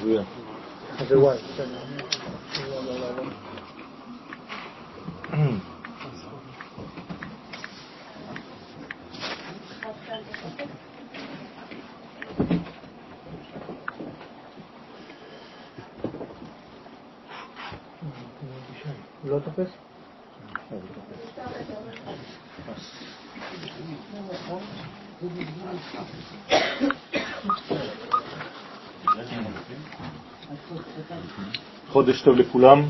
זה וואי. לא תופס? חודש טוב לכולם.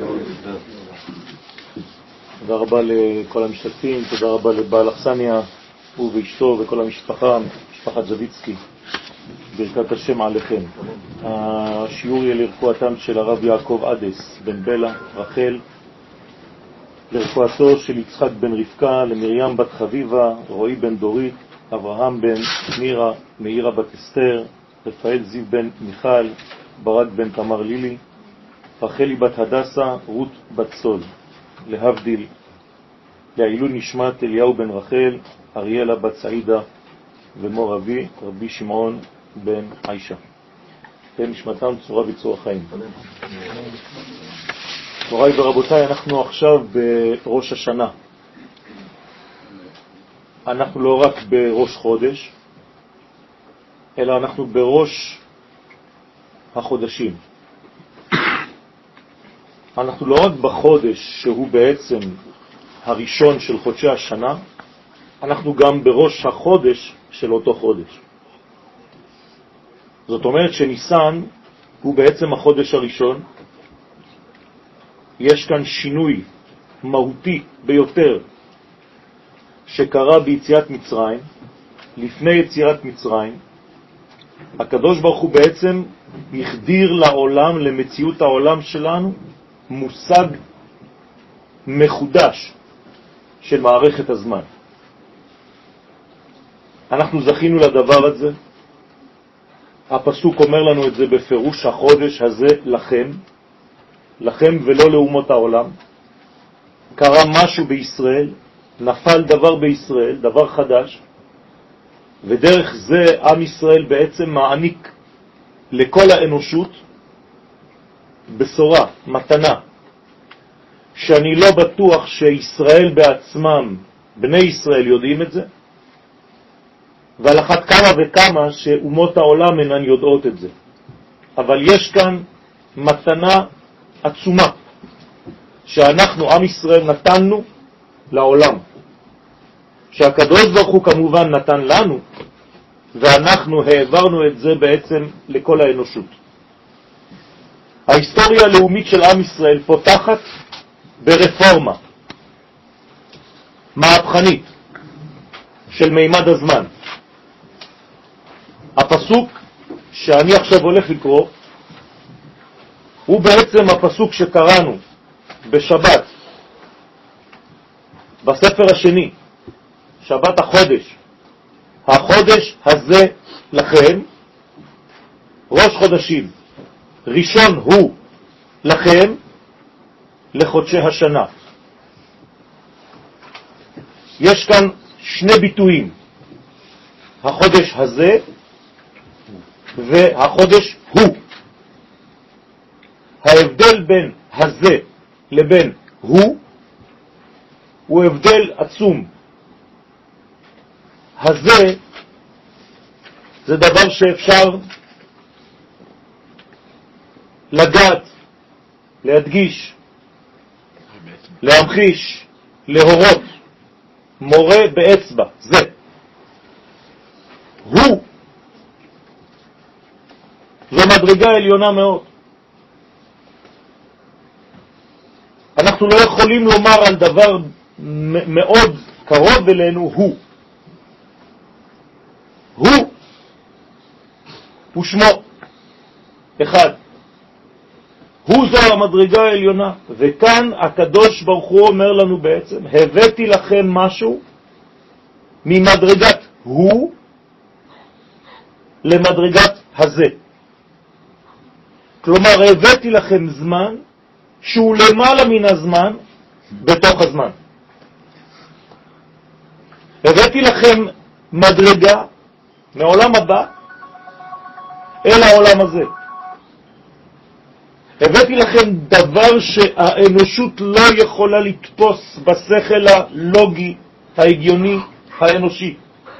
תודה רבה לכל המשתתפים, תודה רבה לבעל אכסניה הוא ואשתו וכל המשפחה, משפחת זביצקי. ברכת השם עליכם. השיעור יהיה לרפואתם של הרב יעקב עדס בן בלה, רחל, לרפואתו של יצחק בן רבקה, למרים בת חביבה, רועי בן דורית, אברהם בן מירה, מאירה בת אסתר, רפאל זיו בן מיכל, ברק בן תמר לילי, רחלי בת הדסה, רות בת סול, להבדיל, לעילוי נשמת אליהו בן רחל, אריאלה בת סעידה, ומור אבי, רבי שמעון בן עישה. נשמתם צורה בצורה חיים. מוריי ורבותיי, אנחנו עכשיו בראש השנה. אנחנו לא רק בראש חודש, אלא אנחנו בראש החודשים. אנחנו לא רק בחודש שהוא בעצם הראשון של חודשי השנה, אנחנו גם בראש החודש של אותו חודש. זאת אומרת שניסן הוא בעצם החודש הראשון. יש כאן שינוי מהותי ביותר שקרה ביציאת מצרים. לפני יציאת מצרים, הקדוש ברוך הוא בעצם החדיר לעולם, למציאות העולם שלנו, מושג מחודש של מערכת הזמן. אנחנו זכינו לדבר הזה. הפסוק אומר לנו את זה בפירוש, החודש הזה לכם, לכם ולא לאומות העולם. קרה משהו בישראל, נפל דבר בישראל, דבר חדש, ודרך זה עם ישראל בעצם מעניק לכל האנושות בשורה, מתנה, שאני לא בטוח שישראל בעצמם, בני ישראל יודעים את זה, ועל אחת כמה וכמה שאומות העולם אינן יודעות את זה. אבל יש כאן מתנה עצומה שאנחנו, עם ישראל, נתנו לעולם, שהקדוש ברוך הוא כמובן נתן לנו, ואנחנו העברנו את זה בעצם לכל האנושות. ההיסטוריה הלאומית של עם ישראל פותחת ברפורמה מהפכנית של מימד הזמן. הפסוק שאני עכשיו הולך לקרוא הוא בעצם הפסוק שקראנו בשבת בספר השני, שבת החודש. החודש הזה לכם, ראש חודשים, ראשון הוא לכם לחודשי השנה. יש כאן שני ביטויים, החודש הזה והחודש הוא. ההבדל בין הזה לבין הוא הבדל עצום. הזה זה דבר שאפשר לגעת, להדגיש, להמחיש, להורות, מורה באצבע, זה. הוא, זו מדרגה עליונה מאוד. אנחנו לא יכולים לומר על דבר מאוד קרוב אלינו הוא ושמו אחד. הוא זו המדרגה העליונה. וכאן הקדוש ברוך הוא אומר לנו בעצם, הבאתי לכם משהו ממדרגת הוא למדרגת הזה. כלומר, הבאתי לכם זמן שהוא למעלה מן הזמן בתוך הזמן. הבאתי לכם מדרגה מעולם הבא אל העולם הזה. הבאתי לכם דבר שהאנושות לא יכולה לתפוס בשכל הלוגי, ההגיוני, האנושי.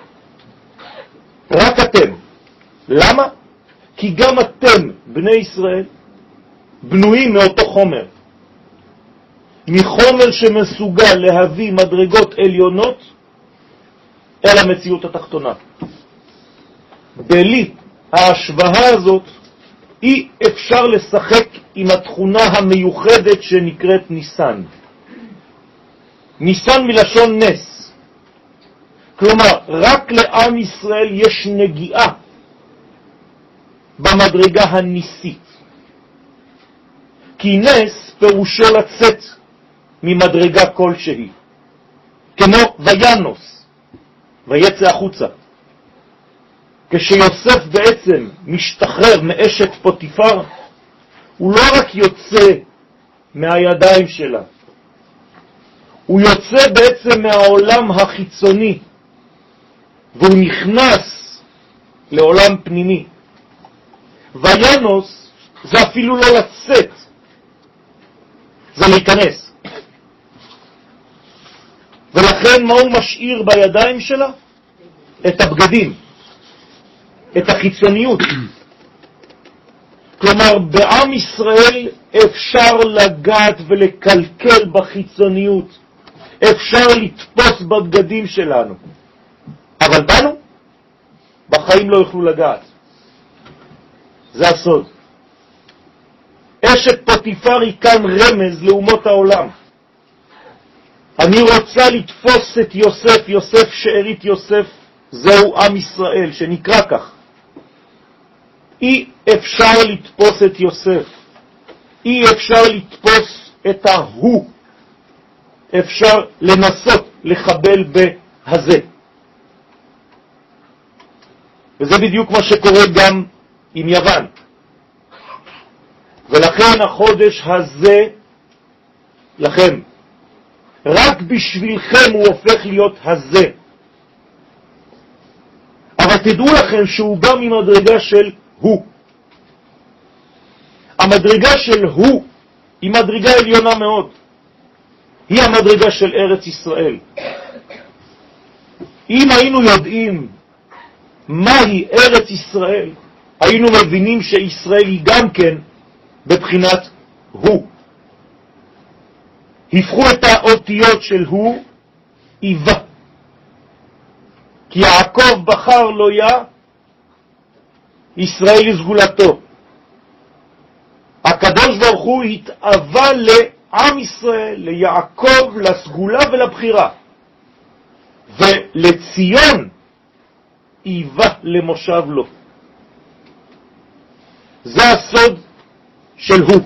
רק אתם. למה? כי גם אתם, בני ישראל, בנויים מאותו חומר. מחומר שמסוגל להביא מדרגות עליונות אל המציאות התחתונה. בלי ההשוואה הזאת אי אפשר לשחק עם התכונה המיוחדת שנקראת ניסן. ניסן מלשון נס. כלומר, רק לעם ישראל יש נגיעה במדרגה הניסית. כי נס פירושו לצאת ממדרגה כלשהי. כמו וינוס, ויצא החוצה. כשיוסף בעצם משתחרר מאשת פוטיפר, הוא לא רק יוצא מהידיים שלה, הוא יוצא בעצם מהעולם החיצוני, והוא נכנס לעולם פנימי. וינוס זה אפילו לא לצאת, זה להיכנס. ולכן מה הוא משאיר בידיים שלה? את הבגדים, את החיצוניות. כלומר, בעם ישראל אפשר לגעת ולקלקל בחיצוניות, אפשר לתפוס בבגדים שלנו, אבל בנו בחיים לא יוכלו לגעת. זה הסוד. אשת פוטיפר היא כאן רמז לאומות העולם. אני רוצה לתפוס את יוסף, יוסף שארית יוסף, זהו עם ישראל שנקרא כך. אי אפשר לתפוס את יוסף, אי אפשר לתפוס את ההוא, אפשר לנסות לחבל בהזה. וזה בדיוק מה שקורה גם עם יוון. ולכן החודש הזה, לכם, רק בשבילכם הוא הופך להיות הזה. אבל תדעו לכם שהוא בא ממדרגה של הוא. המדרגה של הוא היא מדרגה עליונה מאוד. היא המדרגה של ארץ ישראל. אם היינו יודעים מהי ארץ ישראל, היינו מבינים שישראל היא גם כן בבחינת הוא. הפכו את האותיות של הוא איבה. כי יעקב בחר לו ישראל לסגולתו. הקדוש ברוך הוא התאווה לעם ישראל, ליעקב, לסגולה ולבחירה. ולציון איבה למושב לו. זה הסוד של הוא.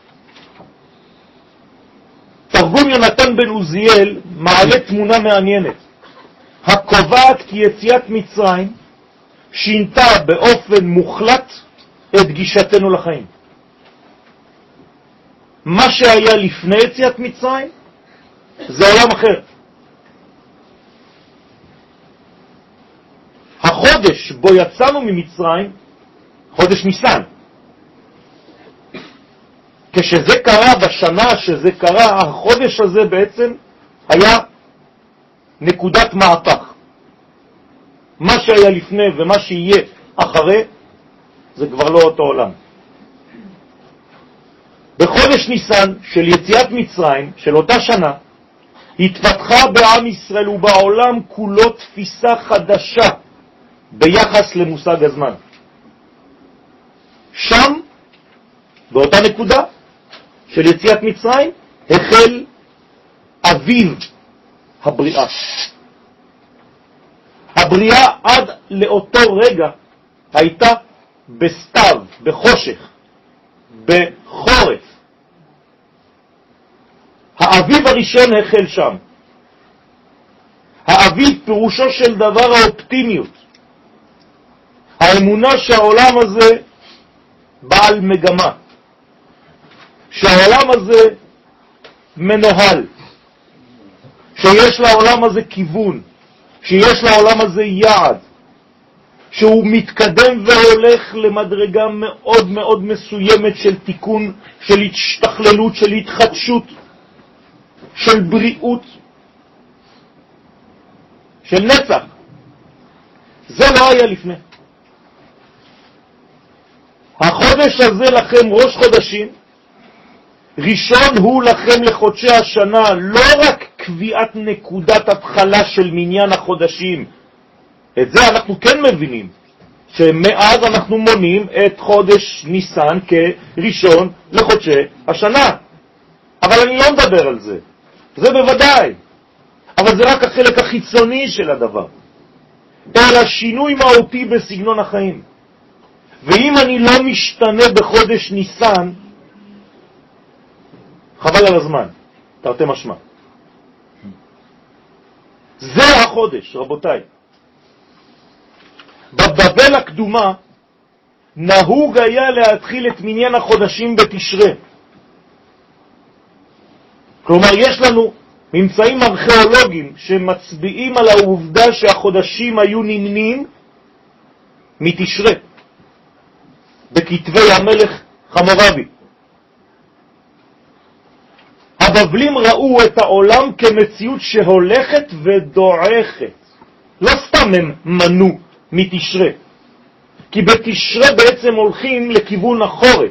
תרגום יונתן בן עוזיאל מעלה תמונה מעניינת, הקובעת כי יציאת מצרים שינתה באופן מוחלט את גישתנו לחיים. מה שהיה לפני יציאת מצרים זה עולם אחר. החודש בו יצאנו ממצרים, חודש ניסן, כשזה קרה, בשנה שזה קרה, החודש הזה בעצם היה נקודת מהפך. מה שהיה לפני ומה שיהיה אחרי זה כבר לא אותו עולם. בחודש ניסן של יציאת מצרים, של אותה שנה, התפתחה בעם ישראל ובעולם כולו תפיסה חדשה ביחס למושג הזמן. שם, באותה נקודה של יציאת מצרים, החל אביב הבריאה. הבריאה עד לאותו רגע הייתה בסתיו, בחושך, בחורף. האביב הראשון החל שם. האביב פירושו של דבר האופטימיות. האמונה שהעולם הזה בעל מגמה. שהעולם הזה מנוהל. שיש לעולם הזה כיוון. שיש לעולם הזה יעד. שהוא מתקדם והולך למדרגה מאוד מאוד מסוימת של תיקון, של השתכללות, של התחדשות, של בריאות, של נצח. זה לא היה לפני. החודש הזה לכם ראש חודשים, ראשון הוא לכם לחודשי השנה, לא רק קביעת נקודת התחלה של מניין החודשים. את זה אנחנו כן מבינים, שמאז אנחנו מונים את חודש ניסן כראשון לחודשי השנה. אבל אני לא מדבר על זה, זה בוודאי. אבל זה רק החלק החיצוני של הדבר. אלא שינוי מהותי בסגנון החיים. ואם אני לא משתנה בחודש ניסן, חבל על הזמן, תרתי משמע. זה החודש, רבותיי. בבבל הקדומה נהוג היה להתחיל את מניין החודשים בתשרה. כלומר, יש לנו ממצאים ארכיאולוגיים שמצביעים על העובדה שהחודשים היו נמנים מתשרה, בכתבי המלך חמורבי. הבבלים ראו את העולם כמציאות שהולכת ודועכת. לא סתם הם מנו מתשרה, כי בתשרה בעצם הולכים לכיוון החורף.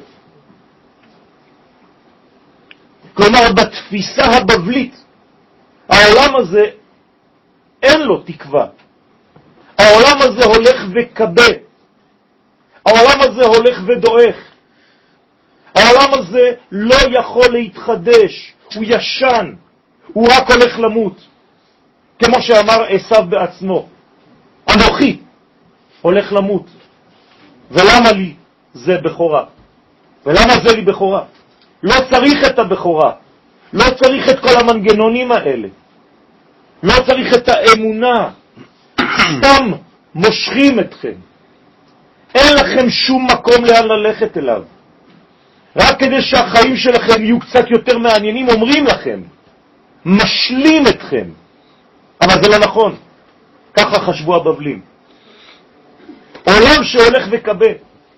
כלומר, בתפיסה הבבלית, העולם הזה אין לו תקווה. העולם הזה הולך וקבה. העולם הזה הולך ודועך. העולם הזה לא יכול להתחדש. הוא ישן. הוא רק הולך למות. כמו שאמר עשיו בעצמו. אנוכי הולך למות. ולמה לי זה בכורה? ולמה זה לי בכורה? לא צריך את הבכורה. לא צריך את כל המנגנונים האלה. לא צריך את האמונה. סתם מושכים אתכם. אין לכם שום מקום לאן ללכת אליו. רק כדי שהחיים שלכם יהיו קצת יותר מעניינים, אומרים לכם, משלים אתכם. אבל זה לא נכון. ככה חשבו הבבלים. עולם שהולך וקבה.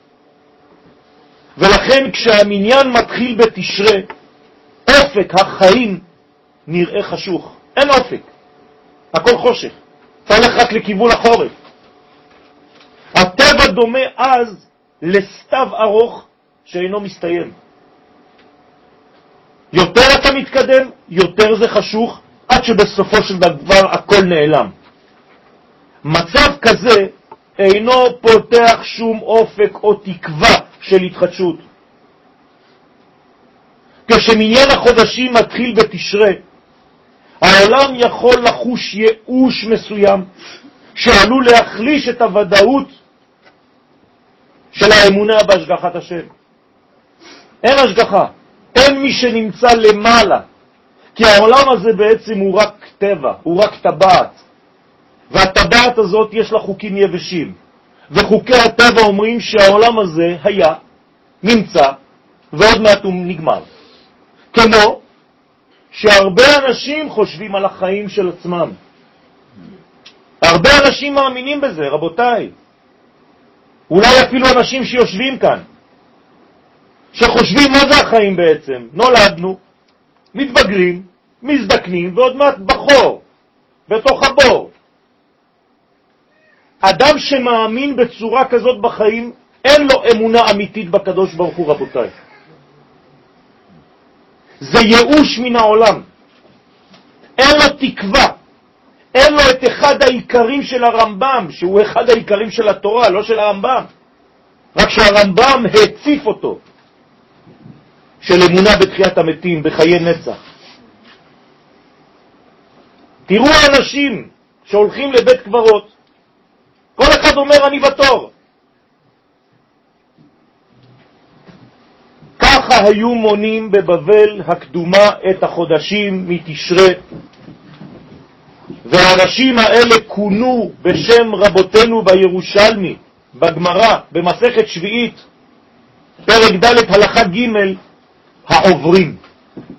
ולכן כשהמניין מתחיל בתשרה, אופק החיים נראה חשוך. אין אופק. הכל חושך. צריך רק לכיוון החורף. הטבע דומה אז לסתיו ארוך שאינו מסתיים. יותר אתה מתקדם, יותר זה חשוך, עד שבסופו של דבר הכל נעלם. מצב כזה אינו פותח שום אופק או תקווה של התחדשות. כשמניין החודשים מתחיל בתשרה, העולם יכול לחוש ייאוש מסוים שעלול להחליש את הוודאות של האמונה בהשגחת השם. אין השגחה, אין מי שנמצא למעלה, כי העולם הזה בעצם הוא רק טבע, הוא רק טבעת, והטבעת הזאת יש לה חוקים יבשים, וחוקי הטבע אומרים שהעולם הזה היה, נמצא, ועוד מעט הוא נגמר. כמו שהרבה אנשים חושבים על החיים של עצמם. הרבה אנשים מאמינים בזה, רבותיי. אולי אפילו אנשים שיושבים כאן, שחושבים מה זה החיים בעצם. נולדנו, מתבגרים, מזדקנים, ועוד מעט בחור, בתוך הבור. אדם שמאמין בצורה כזאת בחיים, אין לו אמונה אמיתית בקדוש ברוך הוא, רבותיי. זה ייאוש מן העולם. אין לו תקווה. אין לו את אחד העיקרים של הרמב"ם, שהוא אחד העיקרים של התורה, לא של הרמב"ם. רק שהרמב"ם הציף אותו, של אמונה בתחיית המתים, בחיי נצח. תראו האנשים שהולכים לבית קברות, כל אחד אומר אני בתור. ככה היו מונים בבבל הקדומה את החודשים מתשרה, והאנשים האלה כונו בשם רבותינו בירושלמי, בגמרא, במסכת שביעית, פרק ד' הלכה ג', העוברים.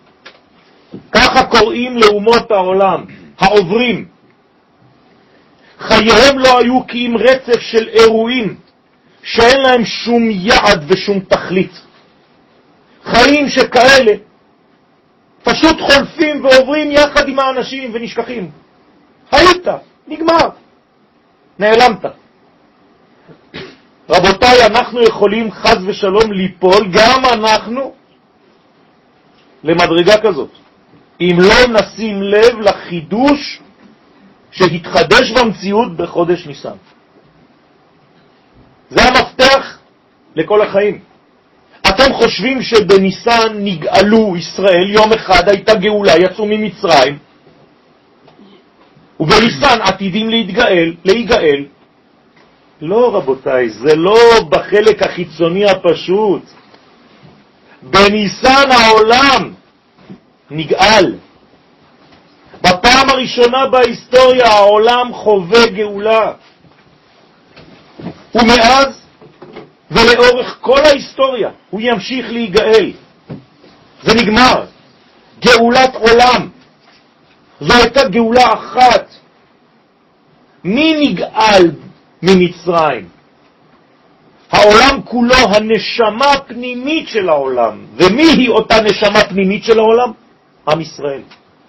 ככה קוראים לאומות העולם, העוברים. חייהם לא היו כי אם רצף של אירועים שאין להם שום יעד ושום תכלית. חיים שכאלה פשוט חולפים ועוברים יחד עם האנשים ונשכחים. היית, נגמר, נעלמת. רבותיי, אנחנו יכולים חס ושלום ליפול, גם אנחנו, למדרגה כזאת, אם לא נשים לב לחידוש שהתחדש במציאות בחודש ניסן. זה המפתח לכל החיים. אתם חושבים שבניסן נגאלו ישראל, יום אחד הייתה גאולה, יצאו ממצרים, ובניסן עתידים להיגאל. לא רבותיי, זה לא בחלק החיצוני הפשוט. בניסן העולם נגאל. בפעם הראשונה בהיסטוריה העולם חווה גאולה. ומאז ולאורך כל ההיסטוריה הוא ימשיך להיגאל. זה נגמר. גאולת עולם. זו הייתה גאולה אחת. מי נגאל ממצרים? העולם כולו, הנשמה הפנימית של העולם. ומי היא אותה נשמה פנימית של העולם? עם ישראל.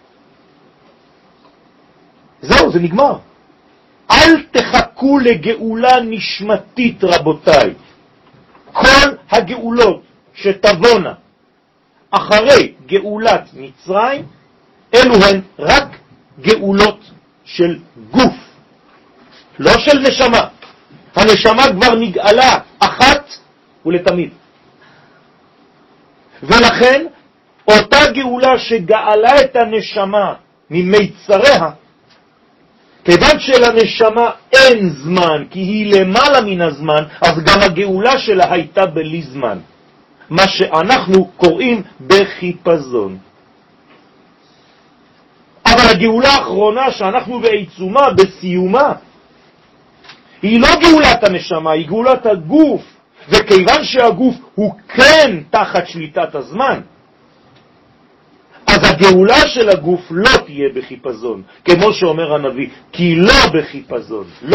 זהו, זה נגמר. אל תחכו לגאולה נשמתית, רבותיי. כל הגאולות שתבונה אחרי גאולת מצרים, אלו הן רק גאולות של גוף, לא של נשמה. הנשמה כבר נגאלה אחת ולתמיד. ולכן, אותה גאולה שגאלה את הנשמה ממיצריה, כיוון שלנשמה אין זמן, כי היא למעלה מן הזמן, אז גם הגאולה שלה הייתה בלי זמן. מה שאנחנו קוראים בחיפזון. אבל הגאולה האחרונה שאנחנו בעיצומה, בסיומה, היא לא גאולת הנשמה, היא גאולת הגוף. וכיוון שהגוף הוא כן תחת שליטת הזמן, אז הגאולה של הגוף לא תהיה בחיפזון, כמו שאומר הנביא, כי לא בחיפזון, לא.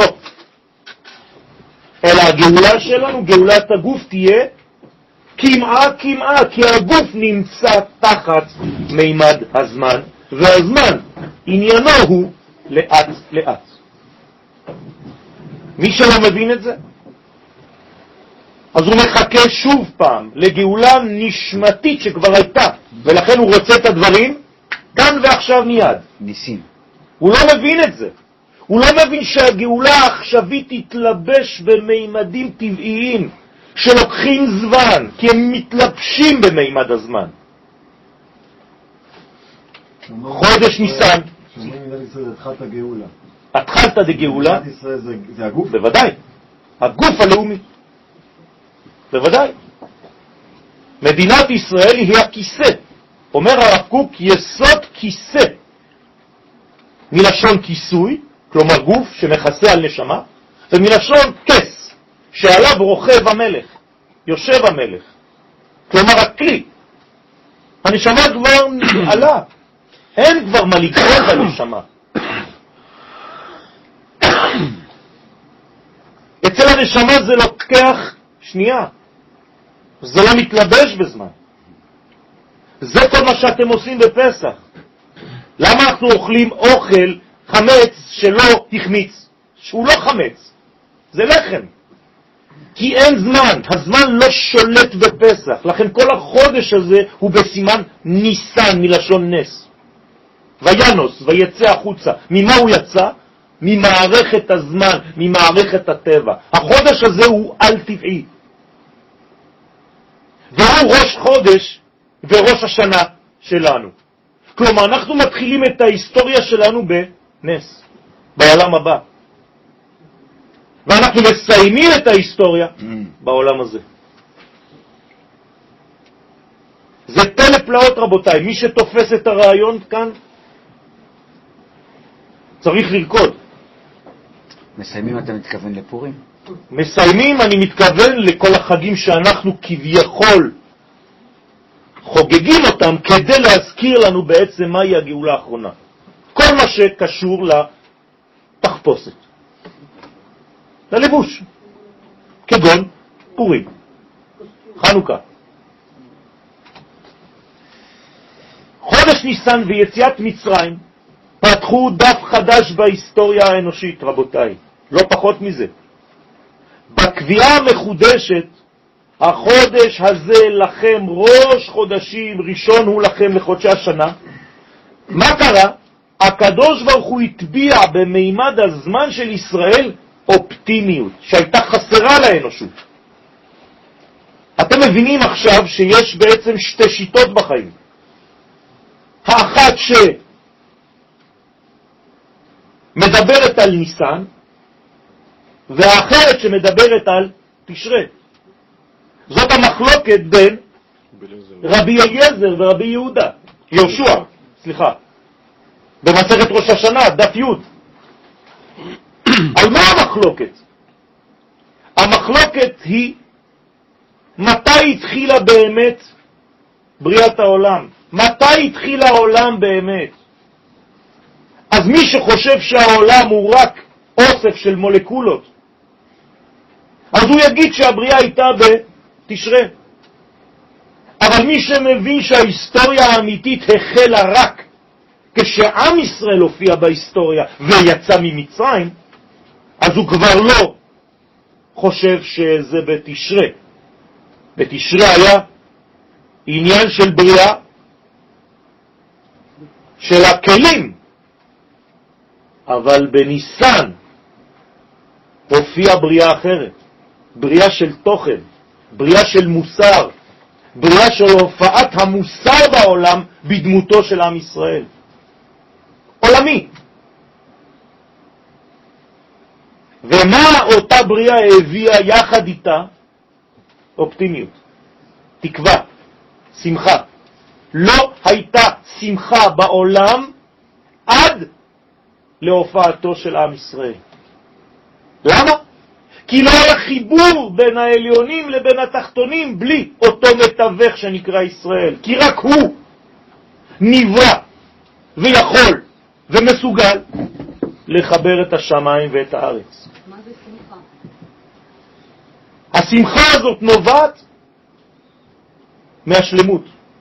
אלא הגאולה שלנו, גאולת הגוף, תהיה כמעה, כי הגוף נמצא תחת מימד הזמן, והזמן עניינו הוא לאט לאט. מי שלא מבין את זה, אז הוא מחכה שוב פעם לגאולה נשמתית שכבר הייתה, ולכן הוא רוצה את הדברים כאן ועכשיו מיד. ניסים. הוא לא מבין את זה. הוא לא מבין שהגאולה העכשווית תתלבש במימדים טבעיים שלוקחים זמן, כי הם מתלבשים במימד הזמן. חודש ניסן. שאומרים מדינת ישראל, התחלת גאולה. התחלת דגאולה? מדינת ישראל זה הגוף? בוודאי. הגוף הלאומי. בוודאי. מדינת ישראל היא הכיסא. אומר הרב קוק, יסוד כיסא. מלשון כיסוי, כלומר גוף שמכסה על נשמה, ומלשון כס, שעליו רוכב המלך, יושב המלך. כלומר הכלי. הנשמה כבר נגאלה. אין כבר מה לגרום בנשמה. אצל הנשמה זה לוקח שנייה. זה לא מתלבש בזמן. זה כל מה שאתם עושים בפסח. למה אנחנו אוכלים אוכל חמץ שלא החמיץ? שהוא לא חמץ. זה לחם. כי אין זמן. הזמן לא שולט בפסח. לכן כל החודש הזה הוא בסימן ניסן מלשון נס. וינוס, ויצא החוצה. ממה הוא יצא? ממערכת הזמן, ממערכת הטבע. החודש הזה הוא על טבעי. והוא ראש חודש וראש השנה שלנו. כלומר, אנחנו מתחילים את ההיסטוריה שלנו בנס, בעולם הבא. ואנחנו מסיימים את ההיסטוריה בעולם הזה. זה פלא פלאות, רבותיי. מי שתופס את הרעיון כאן, צריך לרקוד. מסיימים, אתה מתכוון לפורים? מסיימים, אני מתכוון לכל החגים שאנחנו כביכול חוגגים אותם כדי להזכיר לנו בעצם מהי הגאולה האחרונה. כל מה שקשור לתחפושת. ללבוש, כגון פורים, חנוכה. חודש ניסן ויציאת מצרים פתחו דף חדש בהיסטוריה האנושית, רבותיי, לא פחות מזה. בקביעה המחודשת, החודש הזה לכם ראש חודשים, ראשון הוא לכם לחודשי השנה. מה קרה? הקדוש ברוך הוא הטביע במימד הזמן של ישראל אופטימיות שהייתה חסרה לאנושות. אתם מבינים עכשיו שיש בעצם שתי שיטות בחיים. האחת שמדברת על ניסן, והאחרת שמדברת על תשרה. זאת המחלוקת בין רבי אליעזר ורבי יהודה, יהושע, סליחה, במסכת ראש השנה, דף י'. על מה המחלוקת? המחלוקת היא מתי התחילה באמת בריאת העולם? מתי התחיל העולם באמת? אז מי שחושב שהעולם הוא רק אוסף של מולקולות, אז הוא יגיד שהבריאה הייתה בתשרה. אבל מי שמבין שההיסטוריה האמיתית החלה רק כשעם ישראל הופיע בהיסטוריה ויצא ממצרים, אז הוא כבר לא חושב שזה בתשרה. בתשרה היה עניין של בריאה של הכלים, אבל בניסן הופיעה בריאה אחרת, בריאה של תוכן, בריאה של מוסר, בריאה של הופעת המוסר בעולם בדמותו של עם ישראל. עולמי. ומה אותה בריאה הביאה יחד איתה? אופטימיות, תקווה, שמחה. לא הייתה שמחה בעולם עד להופעתו של עם ישראל. למה? כי לא היה חיבור בין העליונים לבין התחתונים בלי אותו מתווך שנקרא ישראל. כי רק הוא נברא ויכול ומסוגל לחבר את השמיים ואת הארץ. מה זה שמחה? השמחה הזאת נובעת מהשלמות,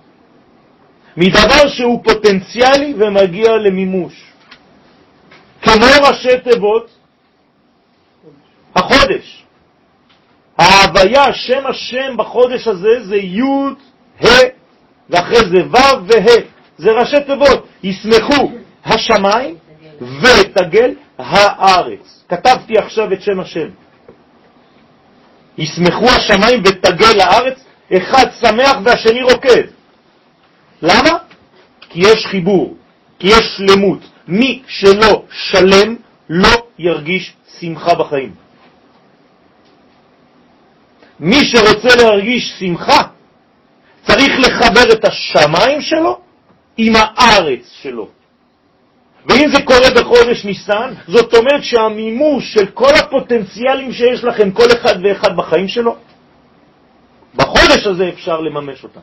מדבר שהוא פוטנציאלי ומגיע למימוש. כמו ראשי תיבות החודש. ההוויה, שם השם בחודש הזה זה י' ה' ואחרי זה ו' וה'. זה ראשי תיבות. ישמחו השמיים ותגל הארץ. כתבתי עכשיו את שם השם. ישמחו השמיים ותגל הארץ, אחד שמח והשני רוקד. למה? כי יש חיבור, כי יש שלמות. מי שלא שלם לא ירגיש שמחה בחיים. מי שרוצה להרגיש שמחה צריך לחבר את השמיים שלו עם הארץ שלו. ואם זה קורה בחודש ניסן, זאת אומרת שהמימוש של כל הפוטנציאלים שיש לכם, כל אחד ואחד בחיים שלו, בחודש הזה אפשר לממש אותם.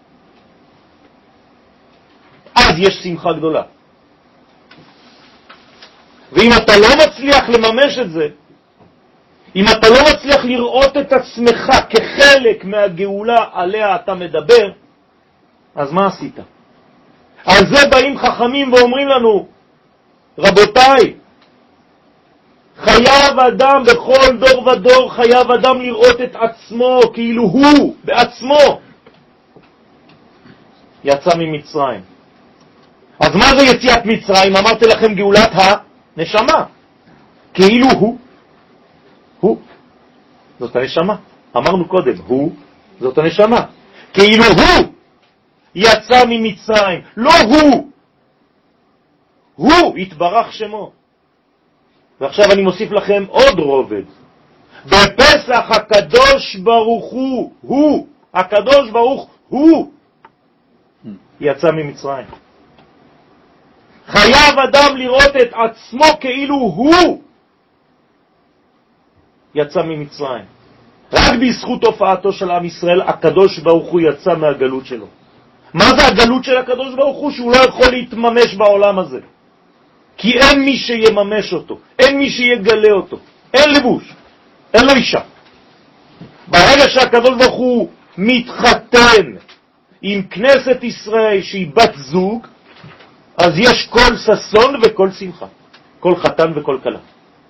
אז יש שמחה גדולה. ואם אתה לא מצליח לממש את זה, אם אתה לא מצליח לראות את עצמך כחלק מהגאולה עליה אתה מדבר, אז מה עשית? על זה באים חכמים ואומרים לנו, רבותיי, חייב אדם בכל דור ודור, חייב אדם לראות את עצמו כאילו הוא בעצמו יצא ממצרים. אז מה זה יציאת מצרים? אמרתי לכם גאולת הנשמה. כאילו הוא. זאת הנשמה. אמרנו קודם, הוא, זאת הנשמה. כאילו הוא יצא ממצרים. לא הוא יתברך שמו. ועכשיו אני מוסיף לכם עוד רובד. בפסח הקדוש ברוך הוא, הקדוש ברוך הוא יצא ממצרים. חייב אדם לראות את עצמו כאילו הוא יצא ממצרים. רק בזכות הופעתו של עם ישראל, הקדוש ברוך הוא יצא מהגלות שלו. מה זה הגלות של הקדוש ברוך הוא? שהוא לא יכול להתממש בעולם הזה. כי אין מי שיממש אותו, אין מי שיגלה אותו, אין לבוש. אין לו אישה. ברגע שהקדוש ברוך הוא מתחתן עם כנסת ישראל שהיא בת זוג, אז יש כל ששון וכל שמחה, כל חתן וכל כלה.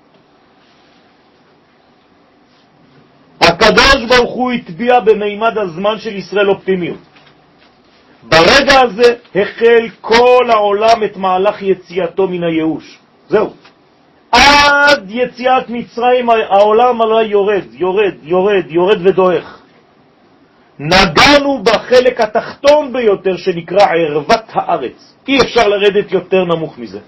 הקדוש ברוך הוא הטביע במימד הזמן של ישראל אופטימיות. ברגע הזה החל כל העולם את מהלך יציאתו מן הייאוש. זהו. עד יציאת מצרים העולם עלה יורד ודועך. נגענו בחלק התחתון ביותר שנקרא ערוות הארץ. אי אפשר לרדת יותר נמוך מזה.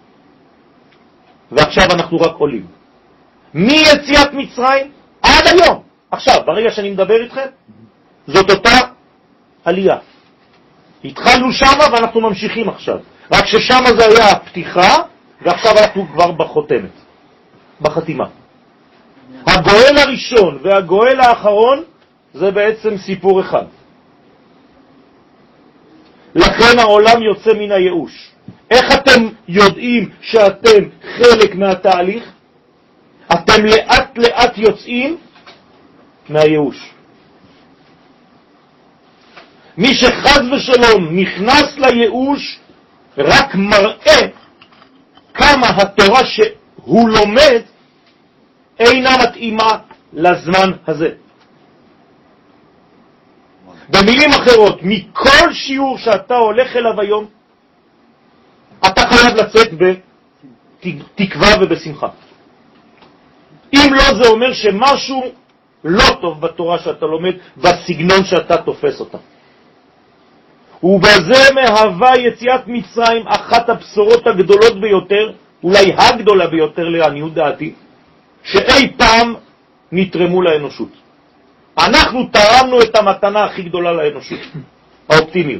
ועכשיו אנחנו רק עולים. מיציאת מצרים עד היום. עכשיו, ברגע שאני מדבר איתכם, זאת אותה עלייה. התחלנו שמה ואנחנו ממשיכים עכשיו. רק ששמה זה היה הפתיחה, ועכשיו אנחנו כבר בחותמת, בחתימה. הגואל הראשון והגואל האחרון זה בעצם סיפור אחד. לכן העולם יוצא מן הייאוש. איך אתם יודעים שאתם חלק מהתהליך? אתם לאט לאט יוצאים מהייאוש. מי שחז ושלום נכנס לייאוש רק מראה כמה התורה שהוא לומד אינה מתאימה לזמן הזה. במילים אחרות, מכל שיעור שאתה הולך אליו היום, אתה חייב לצאת בתקווה ובשמחה. אם לא, זה אומר שמשהו לא טוב בתורה שאתה לומד, בסגנון שאתה תופס אותה. ובזה מהווה יציאת מצרים אחת הבשורות הגדולות ביותר, אולי הגדולה ביותר לעניות דעתי, שאי פעם נתרמו לאנושות. אנחנו תרמנו את המתנה הכי גדולה לאנושות, האופטימיות.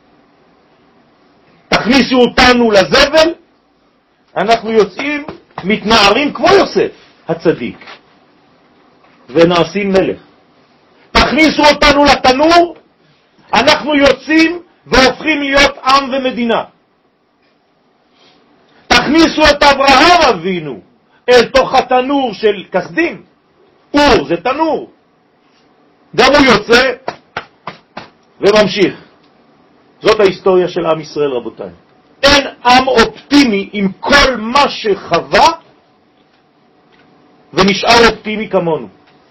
תכניסו אותנו לזבל, אנחנו יוצאים, מתנערים כמו יוסף הצדיק, ונעשים מלך. תכניסו אותנו לתנור, אנחנו יוצאים והופכים להיות עם ומדינה. תכניסו את אברהם אבינו אל תוך התנור של כסדים. אור זה תנור. גם הוא יוצא וממשיך. זאת ההיסטוריה של עם ישראל, רבותיי. אין עם אופטימי עם כל מה שחווה ונשאר אופטימי כמונו.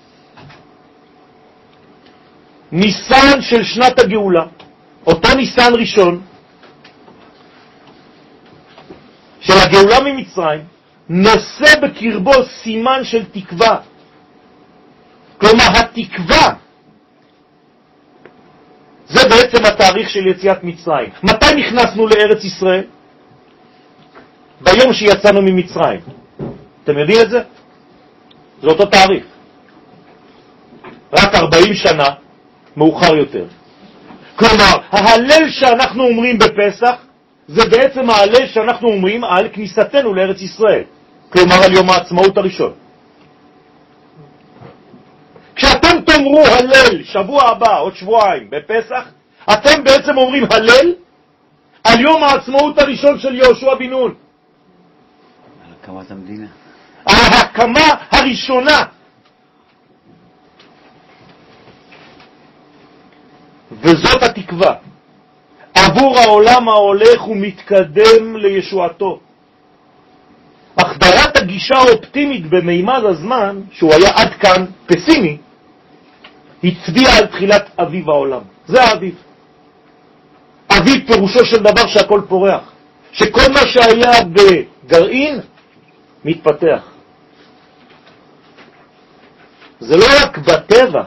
ניסן של שנת הגאולה, אותו ניסן ראשון של הגאולה ממצרים, נושא בקרבו סימן של תקווה. כלומר, התקווה זה בעצם התאריך של יציאת מצרים. מתי נכנסנו לארץ ישראל? ביום שיצאנו ממצרים. אתם יודעים את זה? זה אותו תאריך. רק 40 שנה מאוחר יותר. כלומר, ההלל שאנחנו אומרים בפסח, זה בעצם ההלל שאנחנו אומרים על כניסתנו לארץ ישראל. כלומר, על יום העצמאות הראשון. כשאתם תאמרו הלל שבוע הבא, עוד שבועיים, בפסח, אתם בעצם אומרים הלל על יום העצמאות הראשון של יהושע בן נון. על הקמת המדינה. על ההקמה הראשונה. וזאת התקווה. עבור העולם ההולך ומתקדם לישועתו. החדרת הגישה האופטימית במימד הזמן, שהוא היה עד כאן פסימי, הצביע על תחילת אביב העולם. זה האביב. אביב פירושו של דבר שהכל פורח. שכל מה שהיה בגרעין מתפתח. זה לא רק בטבע.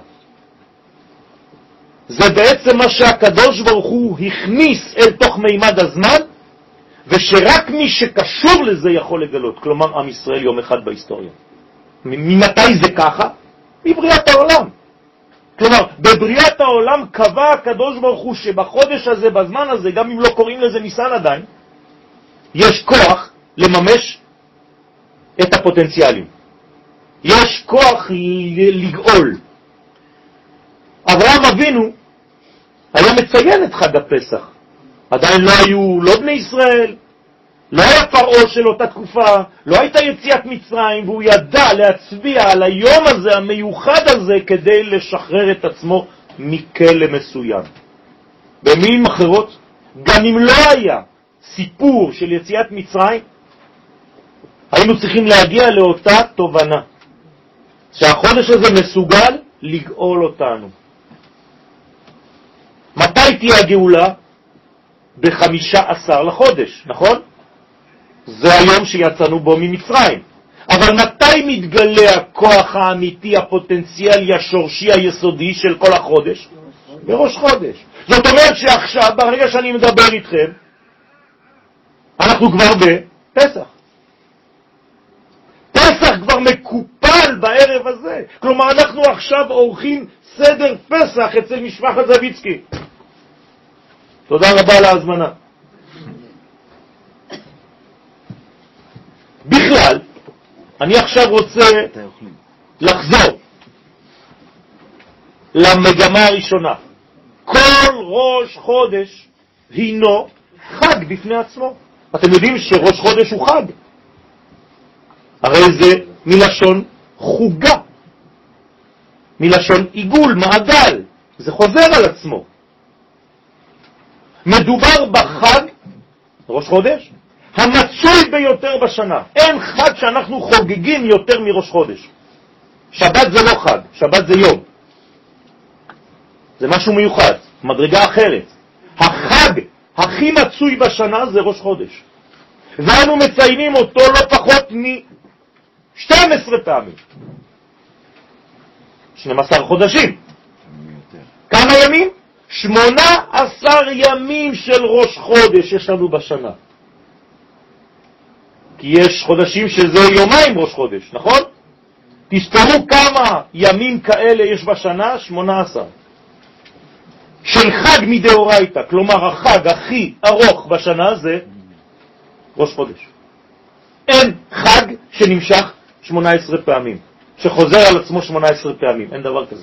זה בעצם מה שהקדוש ברוך הוא הכניס אל תוך מימד הזמן, ושרק מי שקשור לזה יכול לגלות. כלומר, עם ישראל יום אחד בהיסטוריה. ממתי זה ככה? מבריאת העולם. כלומר, בבריאת העולם קבע הקדוש ברוך הוא שבחודש הזה, בזמן הזה, גם אם לא קוראים לזה ניסן עדיין, יש כוח לממש את הפוטנציאלים. יש כוח לגאול. אברהם אבינו היה מציין את חג הפסח. עדיין לא היו לא בני ישראל, לא היה פרעה של אותה תקופה, לא הייתה יציאת מצרים, והוא ידע להצביע על היום הזה, המיוחד הזה, כדי לשחרר את עצמו מכלא מסוים. במילים אחרות, גם אם לא היה סיפור של יציאת מצרים, היינו צריכים להגיע לאותה תובנה, שהחודש הזה מסוגל לגאול אותנו. מתי תהיה הגאולה? ב-15 לחודש, נכון? זה היום שיצאנו בו ממצרים. אבל מתי מתגלה הכוח האמיתי, הפוטנציאלי, השורשי, היסודי של כל החודש? בראש חודש. זאת אומרת שעכשיו, ברגע שאני מדבר איתכם, אנחנו כבר בפסח. פסח כבר מקופל בערב הזה. כלומר, אנחנו עכשיו עורכים סדר פסח אצל משפחת זביצקי. תודה רבה על ההזמנה. בכלל, אני עכשיו רוצה לחזור למגמה הראשונה. כל ראש חודש הינו חג בפני עצמו. אתם יודעים שראש חודש הוא חג. הרי זה מלשון חוגה, מלשון עיגול, מעגל. זה חוזר על עצמו. מדובר בחג, ראש חודש, המצוי ביותר בשנה. אין חג שאנחנו חוגגים יותר מראש חודש. שבת זה לא חג, שבת זה יום. זה משהו מיוחד, מדרגה אחרת. החג הכי מצוי בשנה זה ראש חודש. ואנו מציינים אותו לא פחות מ-12 פעמים. 12 חודשים. כמה ימים? 18 ימים של ראש חודש יש לנו בשנה. כי יש חודשים שזה יומיים ראש חודש, נכון? תסתרו כמה ימים כאלה יש בשנה, 18. של חג מדאורייתא, כלומר החג הכי ארוך בשנה זה ראש חודש. אין חג שנמשך 18 פעמים, שחוזר על עצמו 18 פעמים, אין דבר כזה.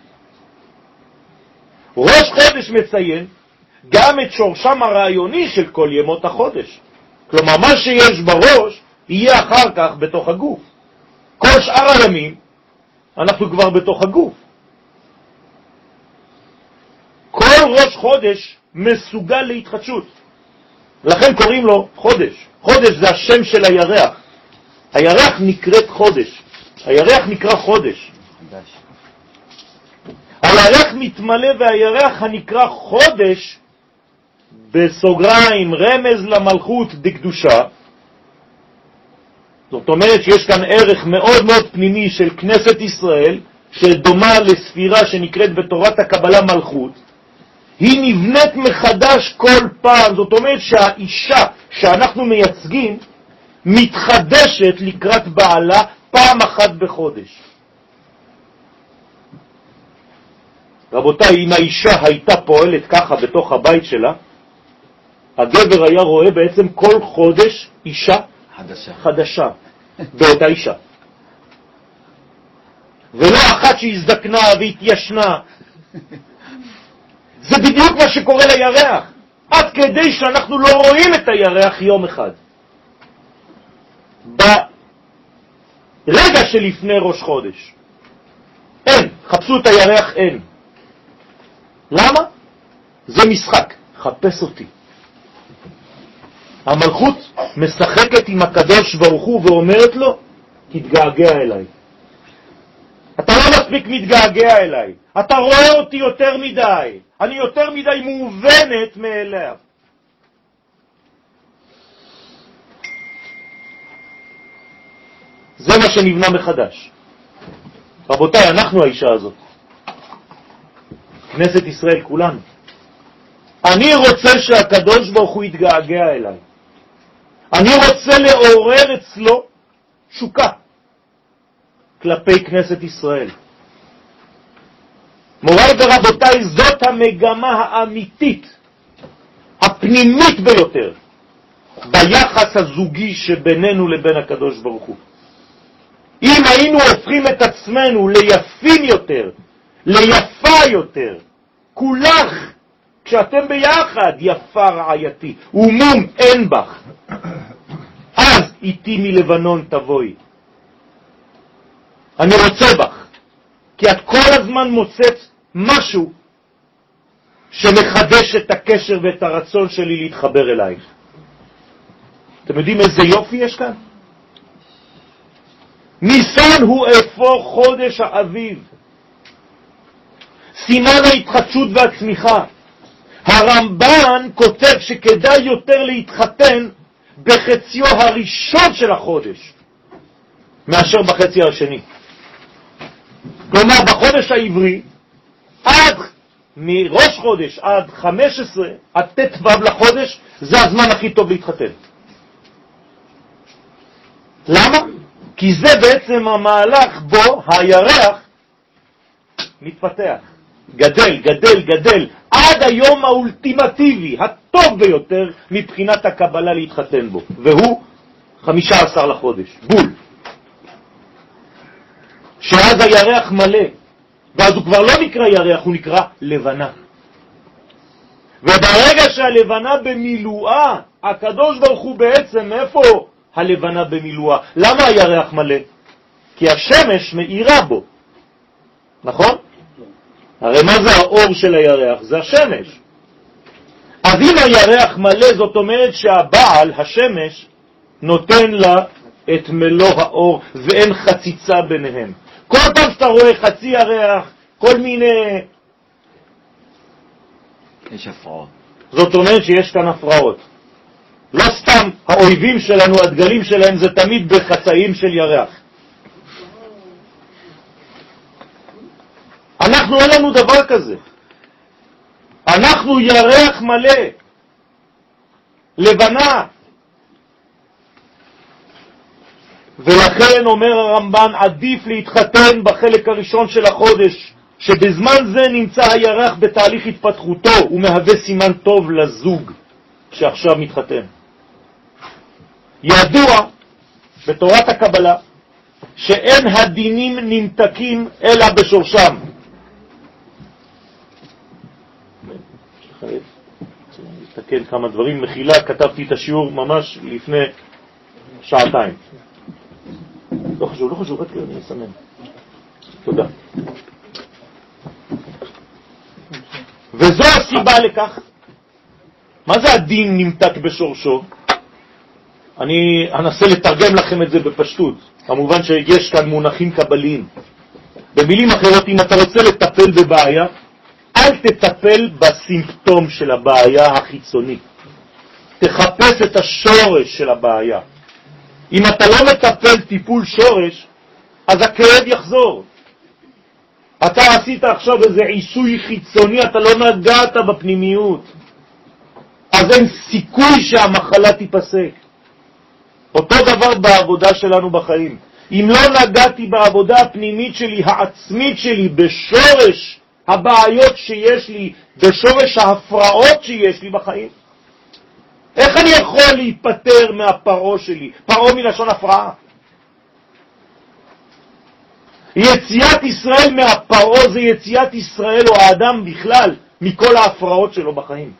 ראש חודש מציין גם את שורשם הרעיוני של כל ימות החודש. כלומר, מה שיש בראש יהיה אחר כך בתוך הגוף. כל שאר הימים אנחנו כבר בתוך הגוף. כל ראש חודש מסוגל להתחדשות. לכן קוראים לו חודש. חודש זה השם של הירח. הירח נקראת חודש. הירח נקרא חודש. הירח מתמלא והירח הנקרא חודש, בסוגריים, רמז למלכות דקדושה. זאת אומרת שיש כאן ערך מאוד מאוד פנימי של כנסת ישראל, שדומה לספירה שנקראת בתורת הקבלה מלכות. היא נבנית מחדש כל פעם. זאת אומרת שהאישה שאנחנו מייצגים מתחדשת לקראת בעלה פעם אחת בחודש. רבותיי, אם האישה הייתה פועלת ככה בתוך הבית שלה, הגבר היה רואה בעצם כל חודש אישה חדשה באותה אישה. ולא אחת שהזדקנה והתיישנה. זה בדיוק מה שקורה לירח. עד כדי שאנחנו לא רואים את הירח יום אחד. ברגע שלפני ראש חודש. אין, חפשו את הירח, אין. למה? זה משחק, חפש אותי. המלכות משחקת עם הקדוש ברוך הוא ואומרת לו, תתגעגע אליי. אתה לא מספיק מתגעגע אליי. אתה רואה אותי יותר מדי. אני יותר מדי מובנת מאליו. זה מה שנבנה מחדש. רבותיי, אנחנו האישה הזאת. כנסת ישראל כולנו. אני רוצה שהקדוש ברוך הוא יתגעגע אליי. אני רוצה לעורר אצלו שוקה כלפי כנסת ישראל. מוריי ורבותיי, זאת המגמה האמיתית, הפנימית ביותר, ביחס הזוגי שבינינו לבין הקדוש ברוך הוא. אם היינו הופכים את עצמנו ליפים יותר, ליפה יותר, כולך, כשאתם ביחד, יפה רעייתי, ומום אין בך. איתי מלבנון תבואי. אני רוצה בך, כי את כל הזמן מוצאת משהו שמחדש את הקשר ואת הרצון שלי להתחבר אלייך. אתם יודעים איזה יופי יש כאן? ניסן הוא אפוא חודש האביב, סימן ההתחדשות והצמיחה. הרמב"ן כותב שכדאי יותר להתחתן בחציו הראשון של החודש מאשר בחצי השני. כלומר, בחודש העברי, מראש חודש עד 15, עד ט"ו לחודש, זה הזמן הכי טוב להתחתן. למה? כי זה בעצם המהלך בו הירח מתפתח, גדל, גדל, גדל, עד היום האולטימטיבי, הטוב ביותר מבחינת הקבלה להתחתן בו, והוא 15 לחודש, בול. שאז הירח מלא, ואז הוא כבר לא נקרא ירח, הוא נקרא לבנה. וברגע שהלבנה במילואה, הקדוש ברוך הוא בעצם, איפה הלבנה במילואה? למה הירח מלא? כי השמש מאירה בו, נכון? הרי מה זה האור של הירח? זה השמש. אז אם הירח מלא, זאת אומרת שהבעל, השמש, נותן לה את מלוא האור, ואין חציצה ביניהם. כל פעם שאתה רואה חצי ירח, כל מיני... יש הפרעות. זאת אומרת שיש כאן הפרעות. לא סתם האויבים שלנו, הדגלים שלהם, זה תמיד בחצאים של ירח. אנחנו אין לנו דבר כזה. אנחנו ירח מלא, לבנה. ולכן אומר הרמב"ן, עדיף להתחתן בחלק הראשון של החודש, שבזמן זה נמצא הירח בתהליך התפתחותו, הוא מהווה סימן טוב לזוג שעכשיו מתחתן. ידוע בתורת הקבלה שאין הדינים נמתקים אלא בשורשם. לתקן כמה דברים, מחילה, כתבתי את השיעור ממש לפני שעתיים. לא חשוב, רק אני אסמן. תודה. וזו הסיבה לכך. מה זה הדין נמתק בשורשו? אני אנסה לתרגם לכם את זה בפשטות. כמובן שיש כאן מונחים קבליים. במילים אחרות, אם אתה רוצה לטפל בבעיה, אל תטפל בסימפטום של הבעיה החיצוני. תחפש את השורש של הבעיה. אם אתה לא מטפל טיפול שורש, אז הכאב יחזור. אתה עשית עכשיו איזה עיסוי חיצוני, אתה לא נגעת בפנימיות. אז אין סיכוי שהמחלה תיפסק. אותו דבר בעבודה שלנו בחיים. אם לא נגעתי בעבודה הפנימית שלי, העצמית שלי, בשורש הבעיות שיש לי, בשורש ההפרעות שיש לי בחיים, איך אני יכול להיפטר מהפרעה שלי? פרעה מלשון הפרעה. יציאת ישראל מהפרעה זה יציאת ישראל או האדם בכלל מכל ההפרעות שלו בחיים.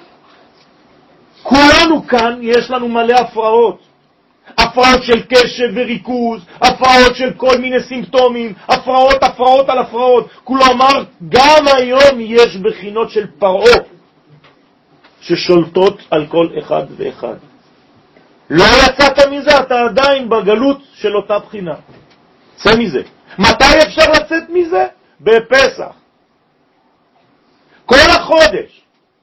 כולנו כאן יש לנו מלא הפרעות. הפרעות של קשב וריכוז, הפרעות של כל מיני סימפטומים, הפרעות על הפרעות. כלומר, גם היום יש בחינות של פרעה ששולטות על כל אחד ואחד. לא יצאת מזה, אתה עדיין בגלות של אותה בחינה. צא מזה. מתי אפשר לצאת מזה? בפסח. כל החודש.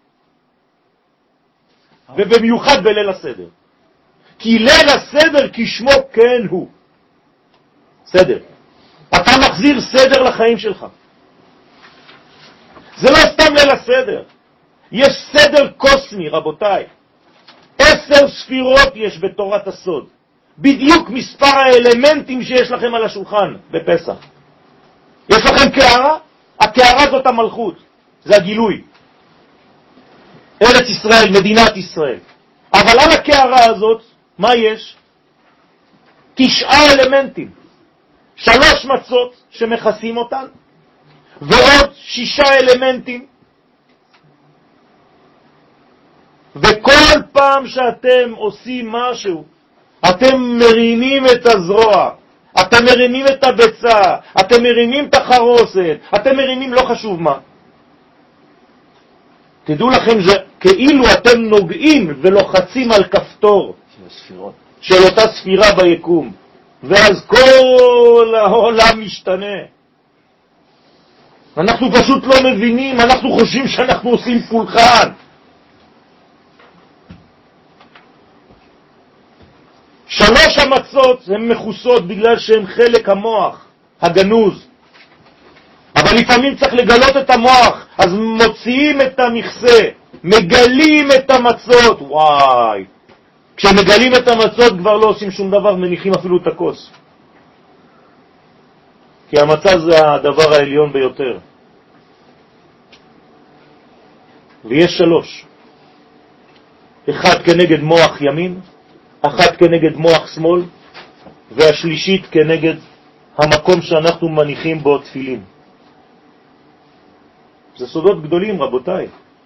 ובמיוחד בליל הסדר. כי ליל הסדר כשמו כן הוא. סדר. אתה מחזיר סדר לחיים שלך. זה לא סתם ליל הסדר. יש סדר קוסמי, רבותיי. 10 ספירות יש בתורת הסוד. בדיוק מספר האלמנטים שיש לכם על השולחן בפסח. יש לכם קערה? הקערה זאת המלכות. זה הגילוי. ארץ ישראל, מדינת ישראל. אבל על הקערה הזאת, מה יש? 9 אלמנטים. 3 מצות שמכסים אותן, ועוד 6 אלמנטים. וכל פעם שאתם עושים משהו אתם מרימים את הזרוע, אתם מרימים את הביצה, אתם מרימים את החרוסת, אתם מרימים לא חשוב מה. תדעו לכם שכאילו אתם נוגעים ולוחצים על כפתור של אותה ספירה ביקום, ואז כל העולם משתנה. אנחנו פשוט לא מבינים, אנחנו חושבים שאנחנו עושים פולחן. שלוש המצות הן מחוסות בגלל שהן חלק המוח הגנוז, אבל לפעמים צריך לגלות את המוח, אז מוציאים את המכסה, מגלים את המצות. וואי, כשמגלים את המצות כבר לא עושים שום דבר, מניחים אפילו את הכוס, כי המצה זה הדבר העליון ביותר. ויש שלוש, אחד כנגד מוח ימין, אחת כנגד מוח שמאל, והשלישית כנגד המקום שאנחנו מניחים בו תפילין. זה סודות גדולים, רבותיי.